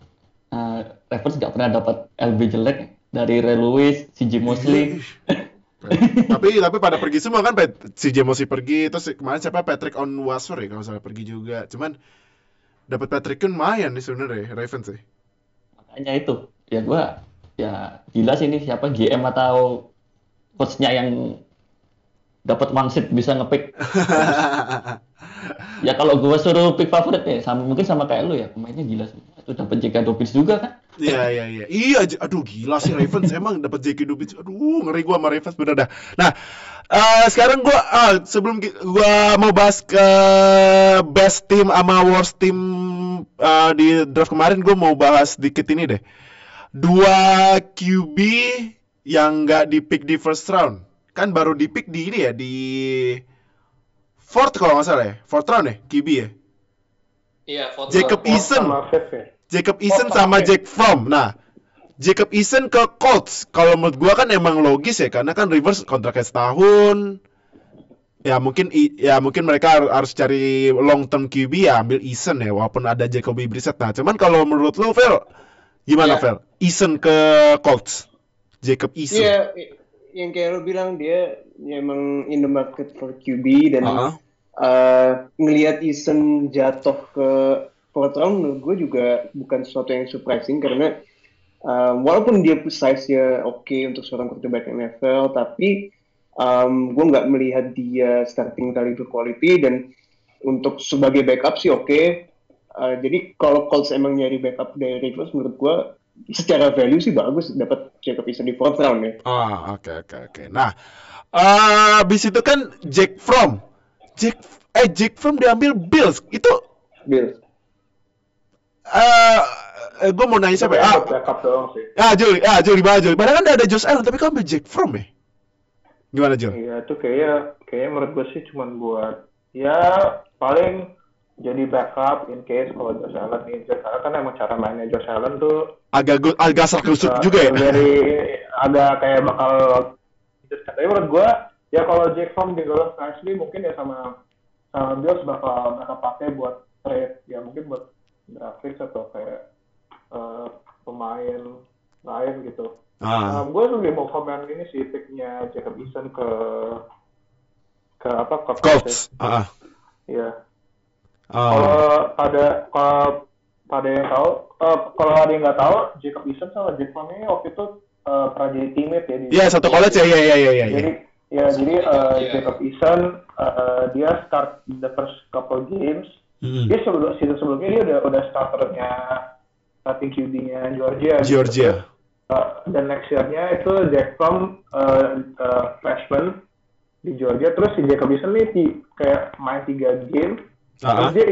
Ravens nggak pernah dapat LB jelek dari Ray Lewis, CJ Mosley. tapi pada pergi semua kan, si Jamosi pergi, terus kemarin siapa Patrick Onwuasor ya kalau salah pergi juga. Cuman dapat Patrick kan lumayan nih sebenarnya Ravens sih. Makanya itu ya gua ya gila sih ini siapa GM atau coachnya yang dapat wangsit bisa ngepick. Ya kalau gua suruh pick favorit ya mungkin sama kayak lu ya, pemainnya gila sih. Itu dapat J.K. Dobbins juga kan? Iya, aduh gila sih Ravens emang dapat J.K. Dobbins. Aduh, ngeri gua sama Ravens bener dah. Nah, sekarang gua sebelum gua mau bahas ke best team sama worst team di draft kemarin, gua mau bahas dikit ini deh. 2 QB yang nggak di-pick di first round. Kan baru di-pick di ini ya, di fourth kalau nggak salah ya. Fourth round ya, QB ya. Iya, fourth Jacob Eason sama Jake Fromm. Nah, Jacob Eason ke Colts. Kalau menurut gua kan emang logis ya, karena kan Rivers kontraknya setahun. Ya mungkin mereka harus cari long term QB ya, ambil Eason ya, walaupun ada Jacoby Brissett. Nah, cuman kalau menurut lu, Fel, gimana Fel? Eason ke Colts. Jacob Eason. Iya, yang kayak lo bilang dia emang in the market for QB dan ngelihat Eason jatuh ke fourth round menurut gue juga bukan sesuatu yang surprising karena walaupun dia size-nya oke untuk seorang quarterback NFL, tapi gue nggak melihat dia starting caliber quality dan untuk sebagai backup sih oke. Jadi kalau Colts emang nyari backup dari Rivers menurut gue secara value sih bagus dapat Jacob Eason di fourth round ya. Oke. Nah, abis itu kan Jake Fromm diambil Bills. Itu Bills. Gue mau nanya siapa? Joey. Padahal kan ada Josh Allen, tapi kok ambil Jake Fromm ya? Gimana Jo? Iya, itu kayaknya menurut gue sih cuma buat ya paling jadi backup in case kalau Josh Allen injured. Karena kan emang cara mainnya Josh Allen tuh agak serkusuk juga ya. Agak kayak bakal. Tapi menurut gue ya kalau Jake Fromm di Golden State mungkin ya sama Bills bakal pakai buat trade ya, mungkin buat draft picks atau kayak pemain lain gitu. Gue lebih mau komen ini sih picknya Jacob Eason ke Colts. Iya. Kalau pada yang tahu, kalau ada yang nggak tahu, Jacob Eason sama Jake Fromm ini waktu itu pernah jadi teammate ya. Iya, satu college ya. Jadi Jacob Eason dia start the first couple games. Dia season sebelumnya dia udah starternya starting QB-nya Georgia. Dan next year-nya itu Jake Fromm freshman di Georgia. Terus si Jacob Eason nih kayak main 3 game. Terus dia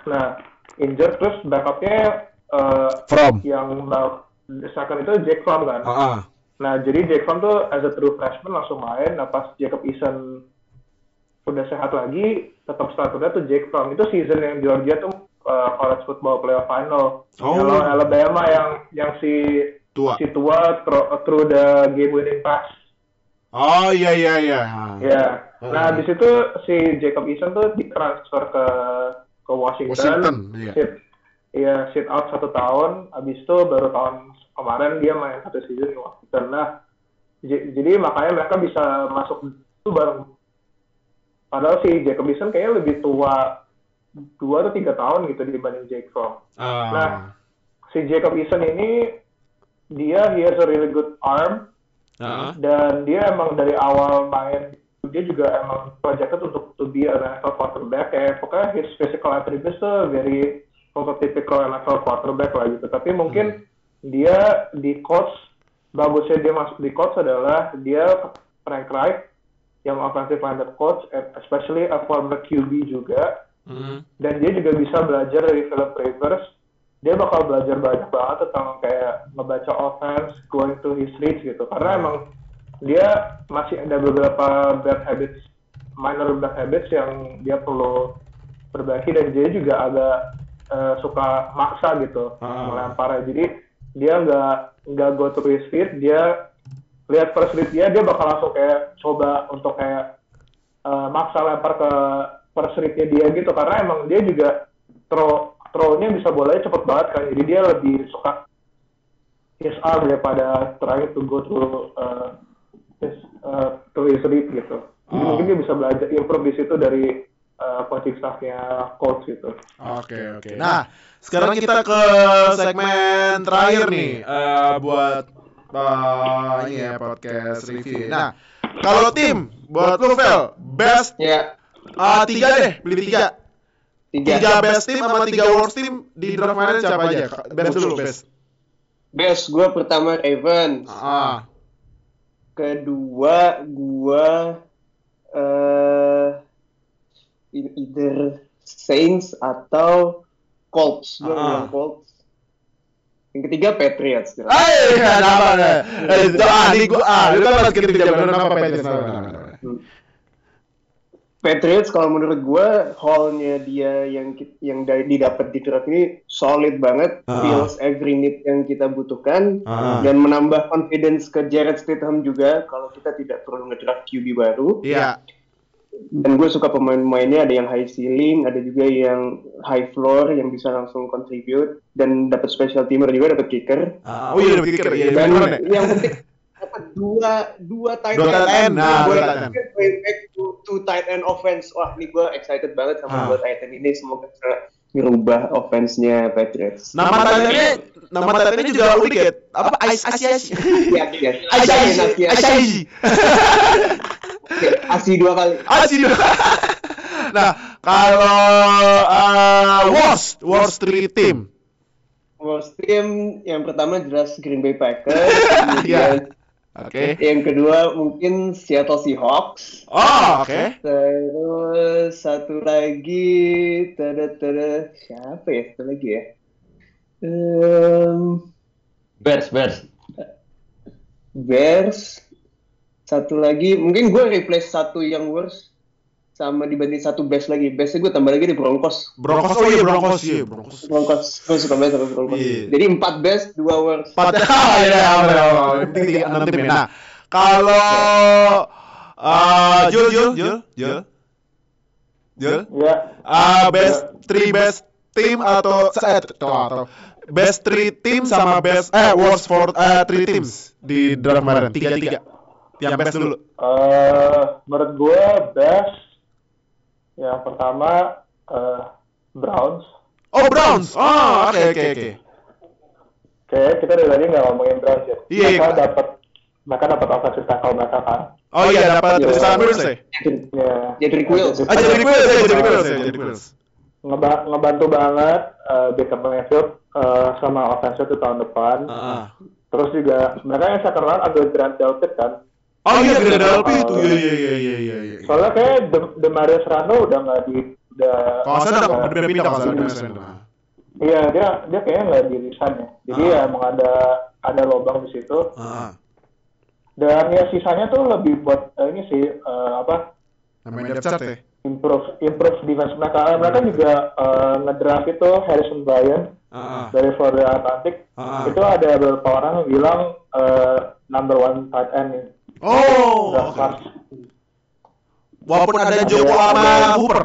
injured terus backupnya Fromm. Yang second itu Jake Fromm kan. Nah jadi Jake Fromm tuh as a true freshman langsung main. Nah pas Jacob Eason udah sehat lagi, tetap starternya tuh Jake Fromm. Itu season yang Georgia tuh college football playoff final. Kalau Alabama yang si tua through the game winning pass. Iya. Ya. Nah, di situ si Jacob Eason tuh ditransfer ke Washington. Sit out 1 tahun. Abis itu baru tahun kemarin dia main 1 season di Washington. Nah, jadi makanya mereka bisa masuk itu bareng. Padahal si Jacob Eason kayaknya lebih tua 2 atau 3 tahun gitu dibanding Jake Fromm. Nah, si Jacob Eason ini he has a really good arm. Dan dia emang dari awal main dia juga emang projected untuk to be an NFL quarterback. Pokoknya his physical attributes tuh very prototypical NFL quarterback lah gitu. Tapi mungkin dia di Colts, bagusnya dia masuk di Colts adalah dia Frank Reich yang offensive minded coach, especially a former QB juga. Dan dia juga bisa belajar dari Philip Rivers. Dia bakal belajar banyak banget tentang kayak ngebaca offense, going to his reads gitu. Karena emang dia masih ada beberapa minor bad habits yang dia perlu perbaiki, dan dia juga agak suka maksa gitu melempar. Jadi dia nggak go to his feet, dia lihat first read dia bakal langsung kayak coba untuk kayak maksa lempar ke first read-nya dia gitu. Karena emang dia juga throw-nya bisa bolanya cepet banget kan, jadi dia lebih suka his arm daripada trying to go through lead gitu. Jadi mungkin dia bisa belajar improve di situ dari coaching staff-nya Colts gitu. Oke. Nah, sekarang kita ke segmen terakhir nih buat ini ya podcast review. Nah, kalau tim buat lu Vel, best 3 deh, pilih 3. 3 best team sama 3 worst team di draft kemarin siapa aja? Best dulu, best. Best gue pertama Ravens. Kedua gue either Saints atau Colts. Gue bilang Colts. Yang ketiga Patriots. Lu kan harus kirim apa Patriots. Patriots kalau menurut gue haul-nya dia yang didapat di draft ini solid banget, fills every need yang kita butuhkan, dan menambah confidence ke Jarrett Stidham juga kalau kita tidak perlu ngedraft QB baru. Iya. Dan gue suka pemain-pemainnya, ada yang high ceiling, ada juga yang high floor yang bisa langsung contribute, dan dapat special teamer juga, dapat kicker. Dapat kicker. Iya, dan yang penting dapat dua tight end. Going back to tight end offense. Wah, ini gue excited banget sama dua tight end ini. Semoga bisa ngerubah offense-nya Patriots. Nama tight end-nya juga unik ya. Apa? Asi. Asi 2 kali. Nah, kalau worst 3 team. Worst team yang pertama jelas Green Bay Packers. Oke. Yang kedua mungkin Seattle Seahawks. Oke. Terus satu lagi siapa ya? Satu lagi ya. Bears. Satu lagi mungkin gue replace satu yang worst sama dibanding satu best lagi. Bestnya gue tambah lagi di Broncos. Broncos. Gue suka banget sama Broncos. Yeah. Jadi 4 best, 2 worst. 4 ya. Nah, kalau Jul. Best 3 best team atau best 3 team sama best worst 3 teams di draft kemarin. 3. Yang best dulu. Menurut gue best yang pertama Browns. Browns. Oke. Oke, kita dari tadi nggak ngomongin Browns ya. Iya. Mereka dapat offensive tackle mereka kan. Dapat Tristan Wirfs ya. Jedrick Wills. Ngebantu banget Baker Mayfield sama offensive itu tahun depan. Terus juga mereka yang second round agak Grant Delpit kan. Grant Delpit itu. Iya. Soalnya kayak Demarius Randall udah nggak kalau saya udah pindah kalau saya. Iya, dia kayaknya nggak di-resign ya. Jadi ya emang ada lubang di situ. Dan ya sisanya tuh lebih buat ini sih namanya depth chart ya. Improve defense mereka. Mereka juga ngedraft itu Harrison Bryant dari Florida Atlantic. Itu ada beberapa orang yang bilang number 1 tight end nih. Walaupun ada Joko sama Hooper.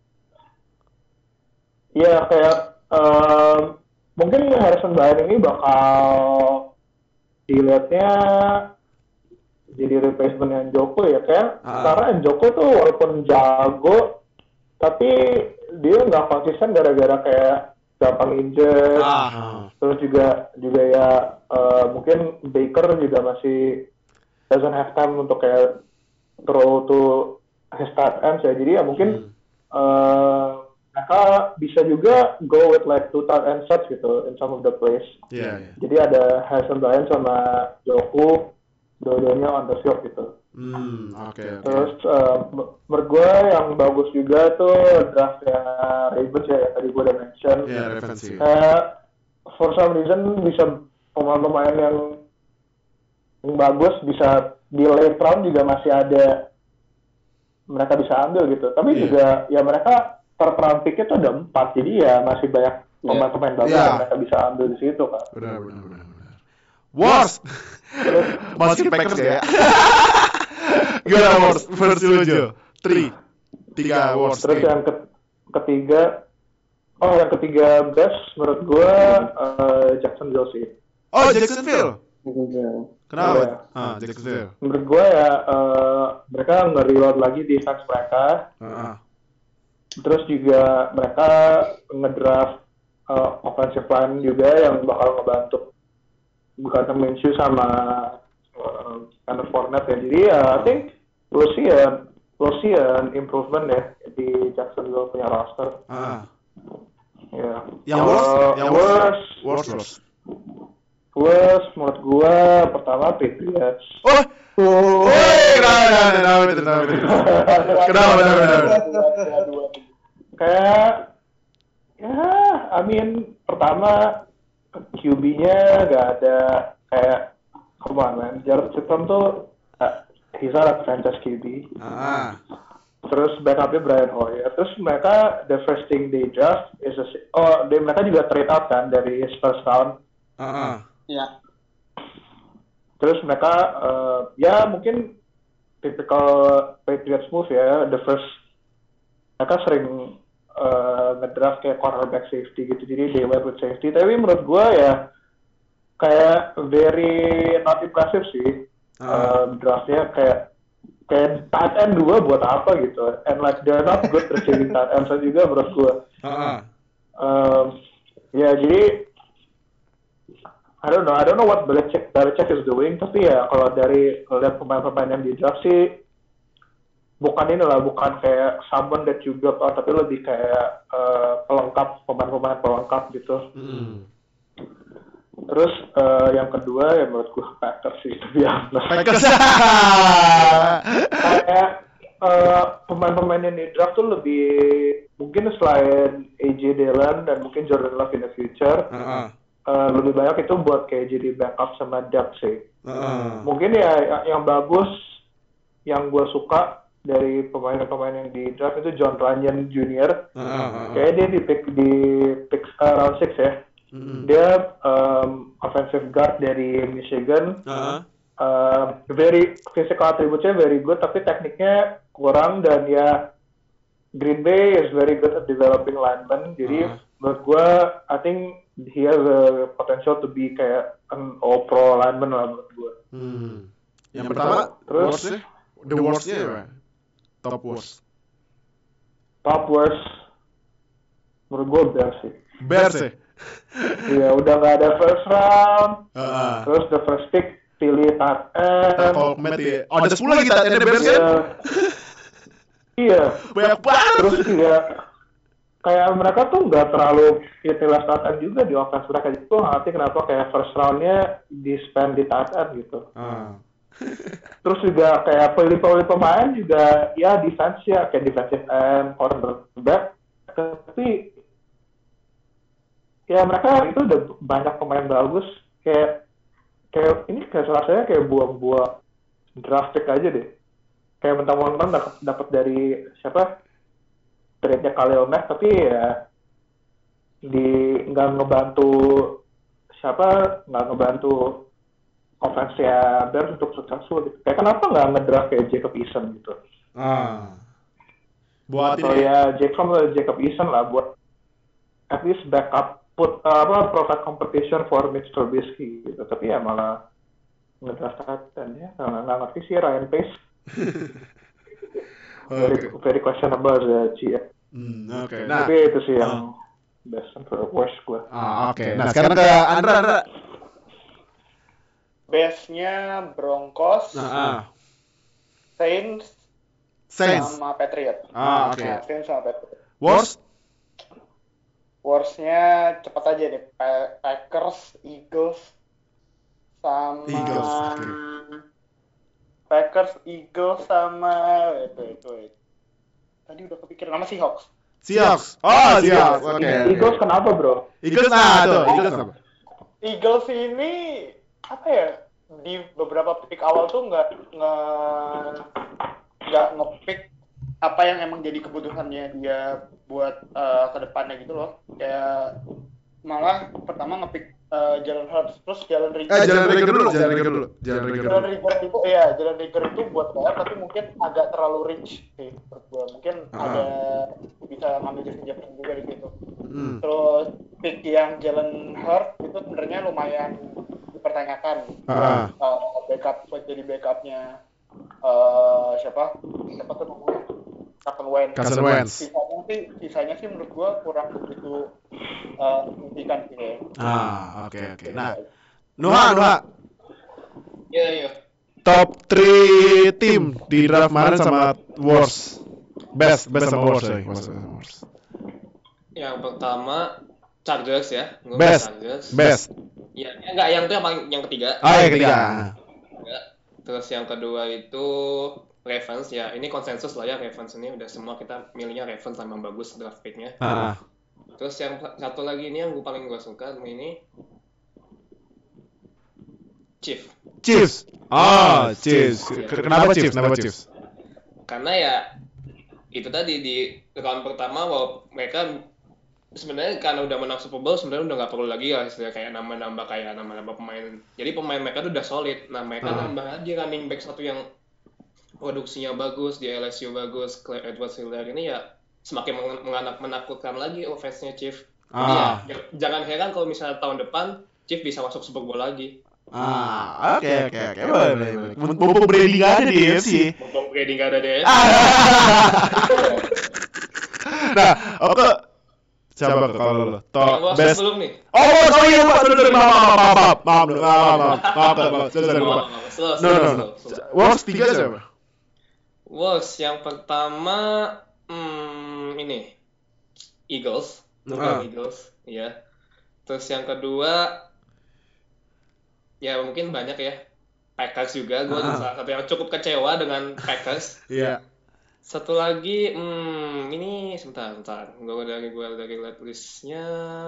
Iya, kayak mungkin Harrison Bryant ini bakal dilihatnya jadi replacement yang Joko ya kan? Karena Joko tuh walaupun jago, tapi dia nggak konsisten gara-gara kayak gampang injured. Terus juga ya mungkin Baker juga masih doesn't have time untuk kayak throw to his tight ends ya. Jadi ya mungkin mereka bisa juga go with like 2 tight end sets gitu in some of the plays. Jadi ada Harrison Bryant sama Joko, dua-duanya on the field gitu. Terus menurut gue yang bagus juga tuh draftnya Ravens ya, yang tadi gue udah mention. Ravens sih. For some reason bisa pemain-pemain yang bagus bisa di late round juga masih ada mereka bisa ambil gitu. Tapi juga ya mereka per round pick-nya tuh ada 4, jadi ya masih banyak pemain-pemain bagus yang mereka bisa ambil di situ kan. Benar. Worst. Masih Packers ya. Gimana worst? First dulu Jo. 3 worst. Terus yang ketiga best menurut gue Jacksonville sih. Jacksonville. Kenapa? Jacksonville. Menurut gue ya mereka nge-reload lagi defense mereka. Terus juga mereka ngedraft offensive line juga yang bakal ngebantu bukan Minshew sama Fournette ya. Jadi I think we'll see an improvement ya di Jacksonville punya roster. Ya. Yang worst menurut gua pertama Patriots. Kenapa? Kayak I mean pertama QB-nya gak ada kayak come on man, Jared Stidham tuh he's not a franchise QB. Terus backupnya Brian Hoyer. Terus mereka the first thing they draft is mereka juga trade out kan dari his first round. Ya. Terus mereka ya mungkin typical Patriots move ya, mereka sering ngedraft kayak cornerback safety gitu, jadi they went with safety. Tapi menurut gue ya kayak very not impressive sih draftnya, kayak tight end 2 buat apa gitu, and like they're not good receiving tight ends juga menurut gue. Ya jadi I don't know what Belichick is doing, tapi ya kalau dari lihat pemain-pemain yang di draft sih bukan kayak someone that you build on, tapi lebih kayak pemain-pemain pelengkap gitu. Terus yang kedua ya menurut gue Packers sih, Packers. Kayak pemain-pemain yang di draft tuh lebih mungkin selain AJ Dillon dan mungkin Jordan Love in the future. Lebih banyak itu buat kayak jadi backup sama depth sih. Mungkin ya yang bagus, yang gue suka dari pemain-pemain yang di draft itu John Runyan Jr. Kayaknya dia di pick round 6 ya. Dia offensive guard dari Michigan. Very physical attribute-nya very good, tapi tekniknya kurang, dan ya Green Bay is very good at developing linemen. Jadi menurut gue, I think he has a potential to be kayak an all-pro lineman lah menurut gue. Yang pertama, terus the worst-nya ya? Top worst. Menurut gue Bears sih. Bears ya? Iya, udah gak ada first round. Terus the first pick pilih tight end. Ada 10 lagi tight end Bears kan? Iya. Banyak banget. Terus juga kayak mereka tuh nggak terlalu utilize tight end juga di offense mereka. Itu ngerti kenapa kayak first round-nya di spend di tight end gitu. Terus juga kayak pilih pemain juga ya defense ya, kayak defensive end, cornerback. Tapi ya mereka itu udah banyak pemain bagus. Kayak ini kayak rasanya kayak buang-buang draft pick aja deh. Kayak mentang-mentang dapat dari siapa? Trade-nya Khalil Mack, tapi ya nggak ngebantu offense-nya Bears untuk successful gitu. Kayak kenapa nggak ngedraft kayak Jacob Eason gitu? Buat atau ya Jacob Eason lah buat at least backup provide competition for Mitch Trubisky gitu. Tapi ya malah ngedraft dan ya nggak ngerti sih Ryan Pace. Very questionable sih ya. Oke. Nah, tapi itu sih yang best and worst gue. Oke. Nah sekarang ke Andra. Best-nya Broncos, Saints, sama Patriots. Oke. Saints sama Patriots. Worst-nya cepat aja nih, Packers, Eagles, sama Packers, Eagles sama itu. Tadi udah kepikiran nama Seahawks. Seahawks. Oke. Eagles kenapa, bro? Eagles kenapa? Eagles ini apa ya? Di beberapa pick awal tuh nggak nge-pick apa yang emang jadi kebutuhannya dia buat kedepannya gitu loh. Kayak malah pertama nge-pick Jalen Hurts, terus Jalen Reagor itu buat bayar, tapi mungkin agak terlalu rich sih menurut gue. Mungkin ada bisa ngambil Justin Jefferson juga di situ. Terus pick yang Jalen Hurts itu sebenarnya lumayan dipertanyakan. Backup buat jadi backupnya siapa tuh namanya? Carson Wentz. Sisanya sih menurut gua kurang begitu signifikan sih. Oke. Nah, Nuha. Iya. Top 3 tim di draft kemarin sama worst. Best sama worst. Yang pertama Chargers ya. Best. Ya, enggak, yang itu yang ketiga. Yang ketiga. Terus yang kedua itu Ravens ya. Ini konsensus lah ya, Ravens ini udah semua kita milihnya Ravens sama bagus draft pick-nya. Terus yang satu lagi ini yang paling gue suka ini Chiefs. Chiefs. Kenapa Chiefs? Karena ya itu tadi di round pertama mereka sebenarnya karena udah menang Super Bowl sebenarnya udah nggak perlu lagi lah istilah kayak nambah pemain. Jadi pemain mereka udah solid. Nah mereka nambah aja running back satu yang produksinya bagus di LSU bagus, Clyde Edwards-Helaire ini ya semakin menakutkan lagi offense-nya Chiefs. Jadi ya jangan heran kalau misalnya tahun depan Chiefs bisa masuk Super Bowl lagi. Oke. Mumpung Brady nggak ada di AFC. Nah, oke. Siapa kalau lo? Top best. Belum nih. Sorry Pak, maaf. No. Worst 3 siapa? Worst yang pertama ini Eagles. Eagles, ya. Terus yang kedua ya mungkin banyak ya. Packers juga, gue salah satu yang cukup kecewa dengan Packers. Iya. Satu lagi, ini sebentar. Gue dari lihat listnya.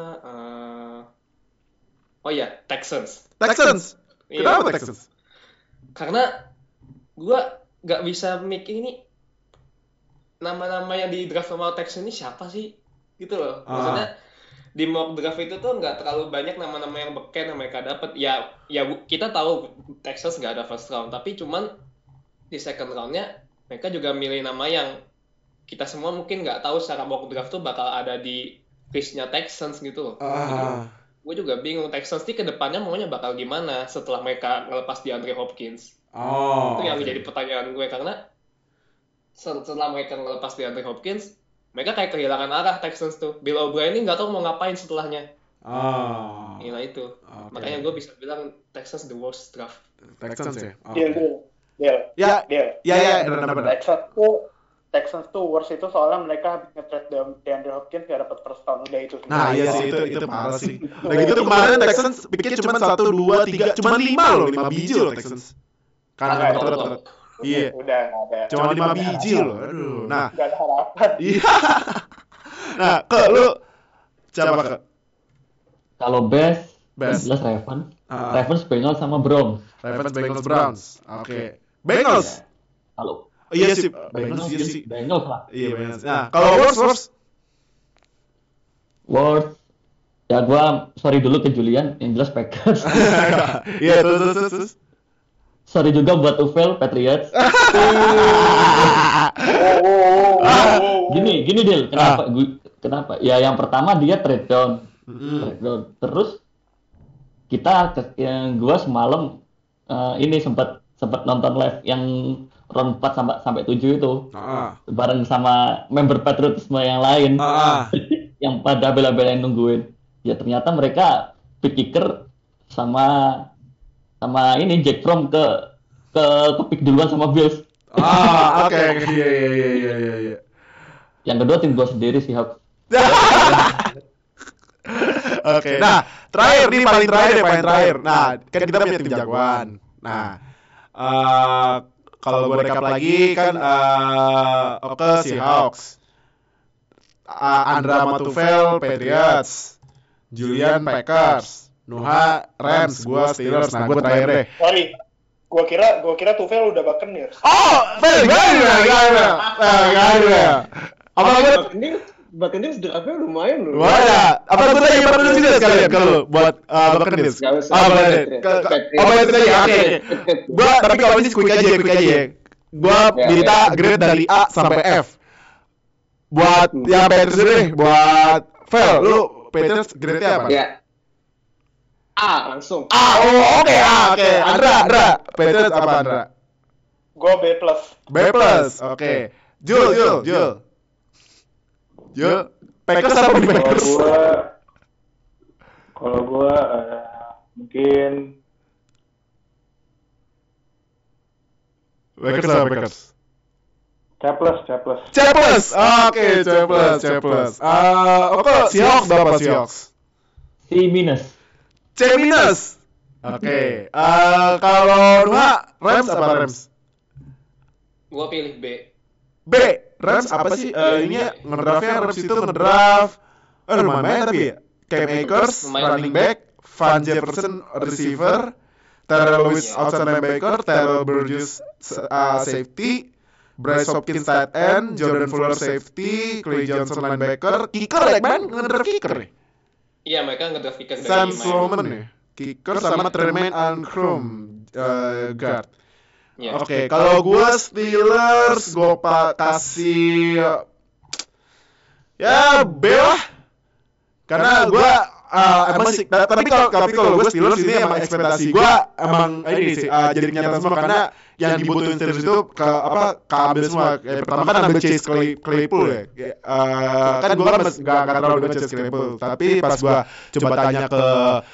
Texans. Kenapa Texans? Karena gue nggak bisa mikir ini nama-nama yang di draft sama Texans ini siapa sih, gitu loh. Maksudnya di mock draft itu tuh nggak terlalu banyak nama-nama yang beken yang mereka dapat. Ya kita tahu Texans nggak ada first round, tapi cuman di second roundnya mereka juga milih nama yang kita semua mungkin nggak tahu secara mock draft tuh bakal ada di listnya Texans gitu loh. Gue juga bingung Texans nih kedepannya maunya bakal gimana setelah mereka ngelepas DeAndre Hopkins. Itu yang jadi pertanyaan gue karena setelah mereka ngelepas DeAndre Hopkins, mereka kayak kehilangan arah Texans tuh. Bill O'Brien ini nggak tahu mau ngapain setelahnya. Inilah itu. Makanya gue bisa bilang Texans the worst draft. Texans ya. Deal. Benar. Texans tuh worst itu soalnya mereka habis nge-trade DeAndre Hopkins gak dapat first round udah itu. Nah iya sih itu parah sih. Nah gitu kemarin Texans pikir cuma 1, 2, 3, cuma 5 biji loh Texans. Karena betul. Iya. Udah nggak ada. Cuma 5 biji loh. Aduh. Nah. Nggak ada harapan. Iya. Nah, lu siapa ke? Kalau best jelas Ravens, Bengals sama Browns. Browns. Oke. Bengals. Halo. Iya sih. Bengals sih. Bengals lah. Iya Bengals. Nah, kalau worst. Ya gua sorry dulu ke Julian, yang jelas Packers. Iya, terus. Sorry juga buat Tufel, Patriots. Gini Del, kenapa? Ya yang pertama dia trade down. Terus gua semalam ini sempat nonton live yang round 4 sampai 7 itu. Bareng sama member patriotisme yang lain. Yang pada bela-belain nungguin. Ya ternyata mereka pick kicker sama ini Jack Fromm ke pick duluan sama Bills. Oke. Iya. Yang kedua tim gua sendiri sih, Hawks. Oke. Nah, terakhir nih paling terakhir. Nah, kan kita punya tim jagoan. Nah, kalau gue recap lagi kan Seahawks, Andra Matufel Patriots, Julian Packers, Nuha Rams, gue Steelers. Nah, gue terakhir deh. Sorry, gue kira Tufel udah Buccaneers. Gak ada. Buccaneers draftnya lumayan loh. Wah, apa gue tanya pada dulu sekalian kalau buat Buccaneers. Gue tapi kalau ini quick aja. Gue minta grade dari A sampai F. Buat yang Patriots deh, buat Fel, lu Patriots grade-nya apa? Ya. A langsung. Oke. Andra. Patriots apa Andra? Gue B+. Oke. Jul. Packers apa di Packers? Kalau gue mungkin Packers apa Packers? C+. Oke, C+. Oke, Seahawks berapa Seahawks? C-. Oke. Kalau Nuha, Rams apa Rams? Gua pilih B. Rams apa sih? Ini ngedraftnya Rams itu ngedraft lumayan tapi ya. Cam Akers, running back, Van Jefferson, receiver, Terrell Lewis, outside linebacker, Terrell Burgess, safety, Bryce Hopkins, tight end, Jordan Fuller, safety, Clay Johnson, linebacker, kicker, ngedraft kicker nih. Iya, mereka ngedraft kicker dari Sam Sloman nih, kicker sama Tremaine Anchrum, guard. Yeah. Oke, kalau gue Steelers, gue kasih ya B lah. Karena gue emang sih, tapi kalau gue Steelers ini emang ekspektasi gue emang ini sih jadi kenyataan semua karena yang dibutuhin Steelers itu keambil semua. Pertama kan ambil Chase Claypool ya. Kan gue kan nggak terlalu dengan Chase Claypool, tapi pas gue coba tanya ke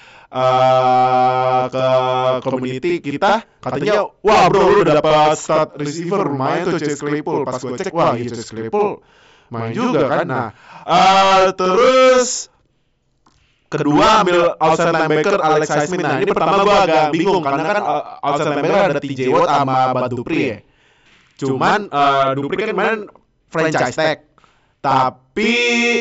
community kita katanya wah bro lu udah dapat start receiver lumayan tuh Chase Claypool. Pas gue cek wah iya Chase Claypool main juga kan. Nah terus kedua ambil outside linebacker Alex Highsmith. Nah ini pertama gue agak bingung karena kan outside linebacker ada TJ Watt sama Bud Dupree ya. Cuman Dupree kan kemarin franchise tag, tapi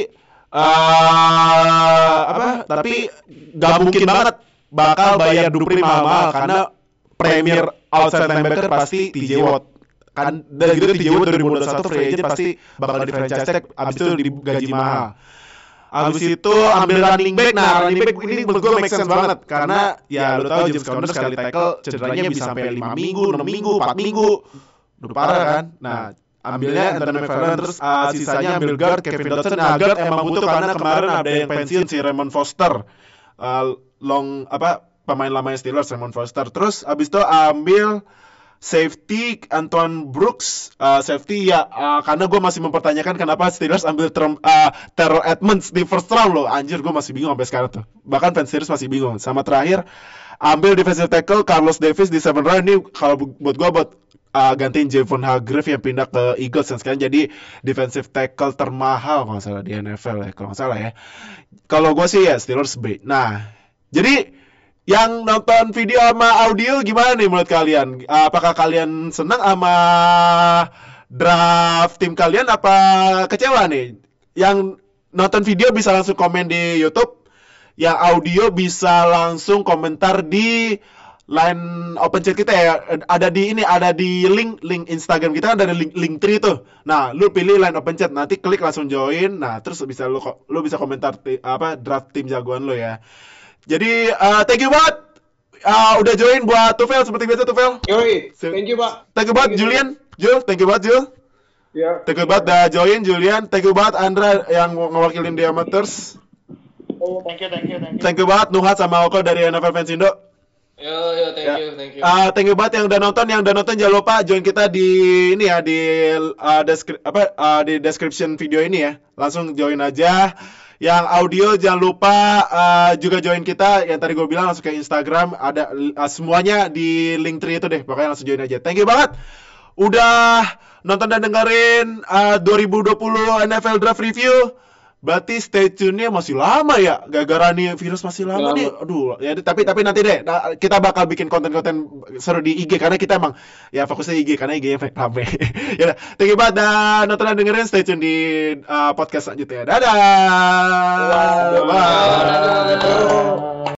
tapi gak mungkin banget bakal bayar Dupree mahal-mahal karena premier outside linebacker pasti TJ Watt kan, dan gitu TJ Watt 2021 free agent pasti bakal di franchise tag, abis itu digaji mahal. Abis itu ambil running back. Nah running back ini menurut gue make sense banget karena ya lu tahu James Conner sekali tackle cederanya bisa sampai 5 minggu, 6 minggu, 4 minggu, udah parah kan. Nah ambilnya Anthony McFarland, terus sisanya ambil guard Kevin Dotson. Nah guard emang butuh karena kemarin ada yang pensiun si Raymond Foster, pemain lamanya Steelers Raymond Foster. Terus abis itu ambil safety Antoine Brooks, safety ya karena gue masih mempertanyakan kenapa Steelers ambil Terrell Edmunds di first round loh. Anjir gue masih bingung sampai sekarang tuh. Bahkan fans Steelers masih bingung. Sama terakhir ambil defensive tackle Carlos Davis di 7th round. Ini kalau buat gue gantiin Javon Hargrave yang pindah ke Eagles yang sekarang jadi defensive tackle termahal kalau nggak salah di NFL ya, kalau nggak salah ya. Kalau gue sih ya Steelers B. Nah jadi yang nonton video sama audio gimana nih menurut kalian? Apakah kalian senang sama draft tim kalian apa kecewa nih? Yang nonton video bisa langsung komen di YouTube, yang audio bisa langsung komentar di line open chat kita ya. Ada di link Instagram kita, ada link tree tuh. Nah, lu pilih line open chat, nanti klik langsung join. Nah, terus bisa lu bisa komentar draft tim jagoan lu ya. Jadi thank you banget udah join buat Tufel seperti biasa Tufel. Yoi, thank you Pak. Thank you banget Julian. Jul, thank you banget Jul. Yeah. Thank you banget udah join Julian. Thank you banget Andra yang ngewakilin The Amateurs. Oh, thank you. Thank you banget Nuhat sama Oko dari NFL Fans Indo. Yo, thank you. Thank you banget yang udah nonton, jangan lupa join kita di ini ya di description video ini ya. Langsung join aja. Yang audio jangan lupa juga join kita. Yang tadi gue bilang langsung ke Instagram, ada semuanya di link tree itu deh. Pokoknya langsung join aja. Thank you banget udah nonton dan dengerin 2020 NFL Draft Review. Berarti stay tune-nya masih lama ya, gara-gara nih virus masih lama nih. Aduh, ya tapi nanti deh kita bakal bikin konten-konten seru di IG karena kita emang ya fokusnya IG karena IG-nya rame. Ya, thank you banget dan nonton dan dengerin, stay tune di podcast selanjutnya. Dadah. Bye.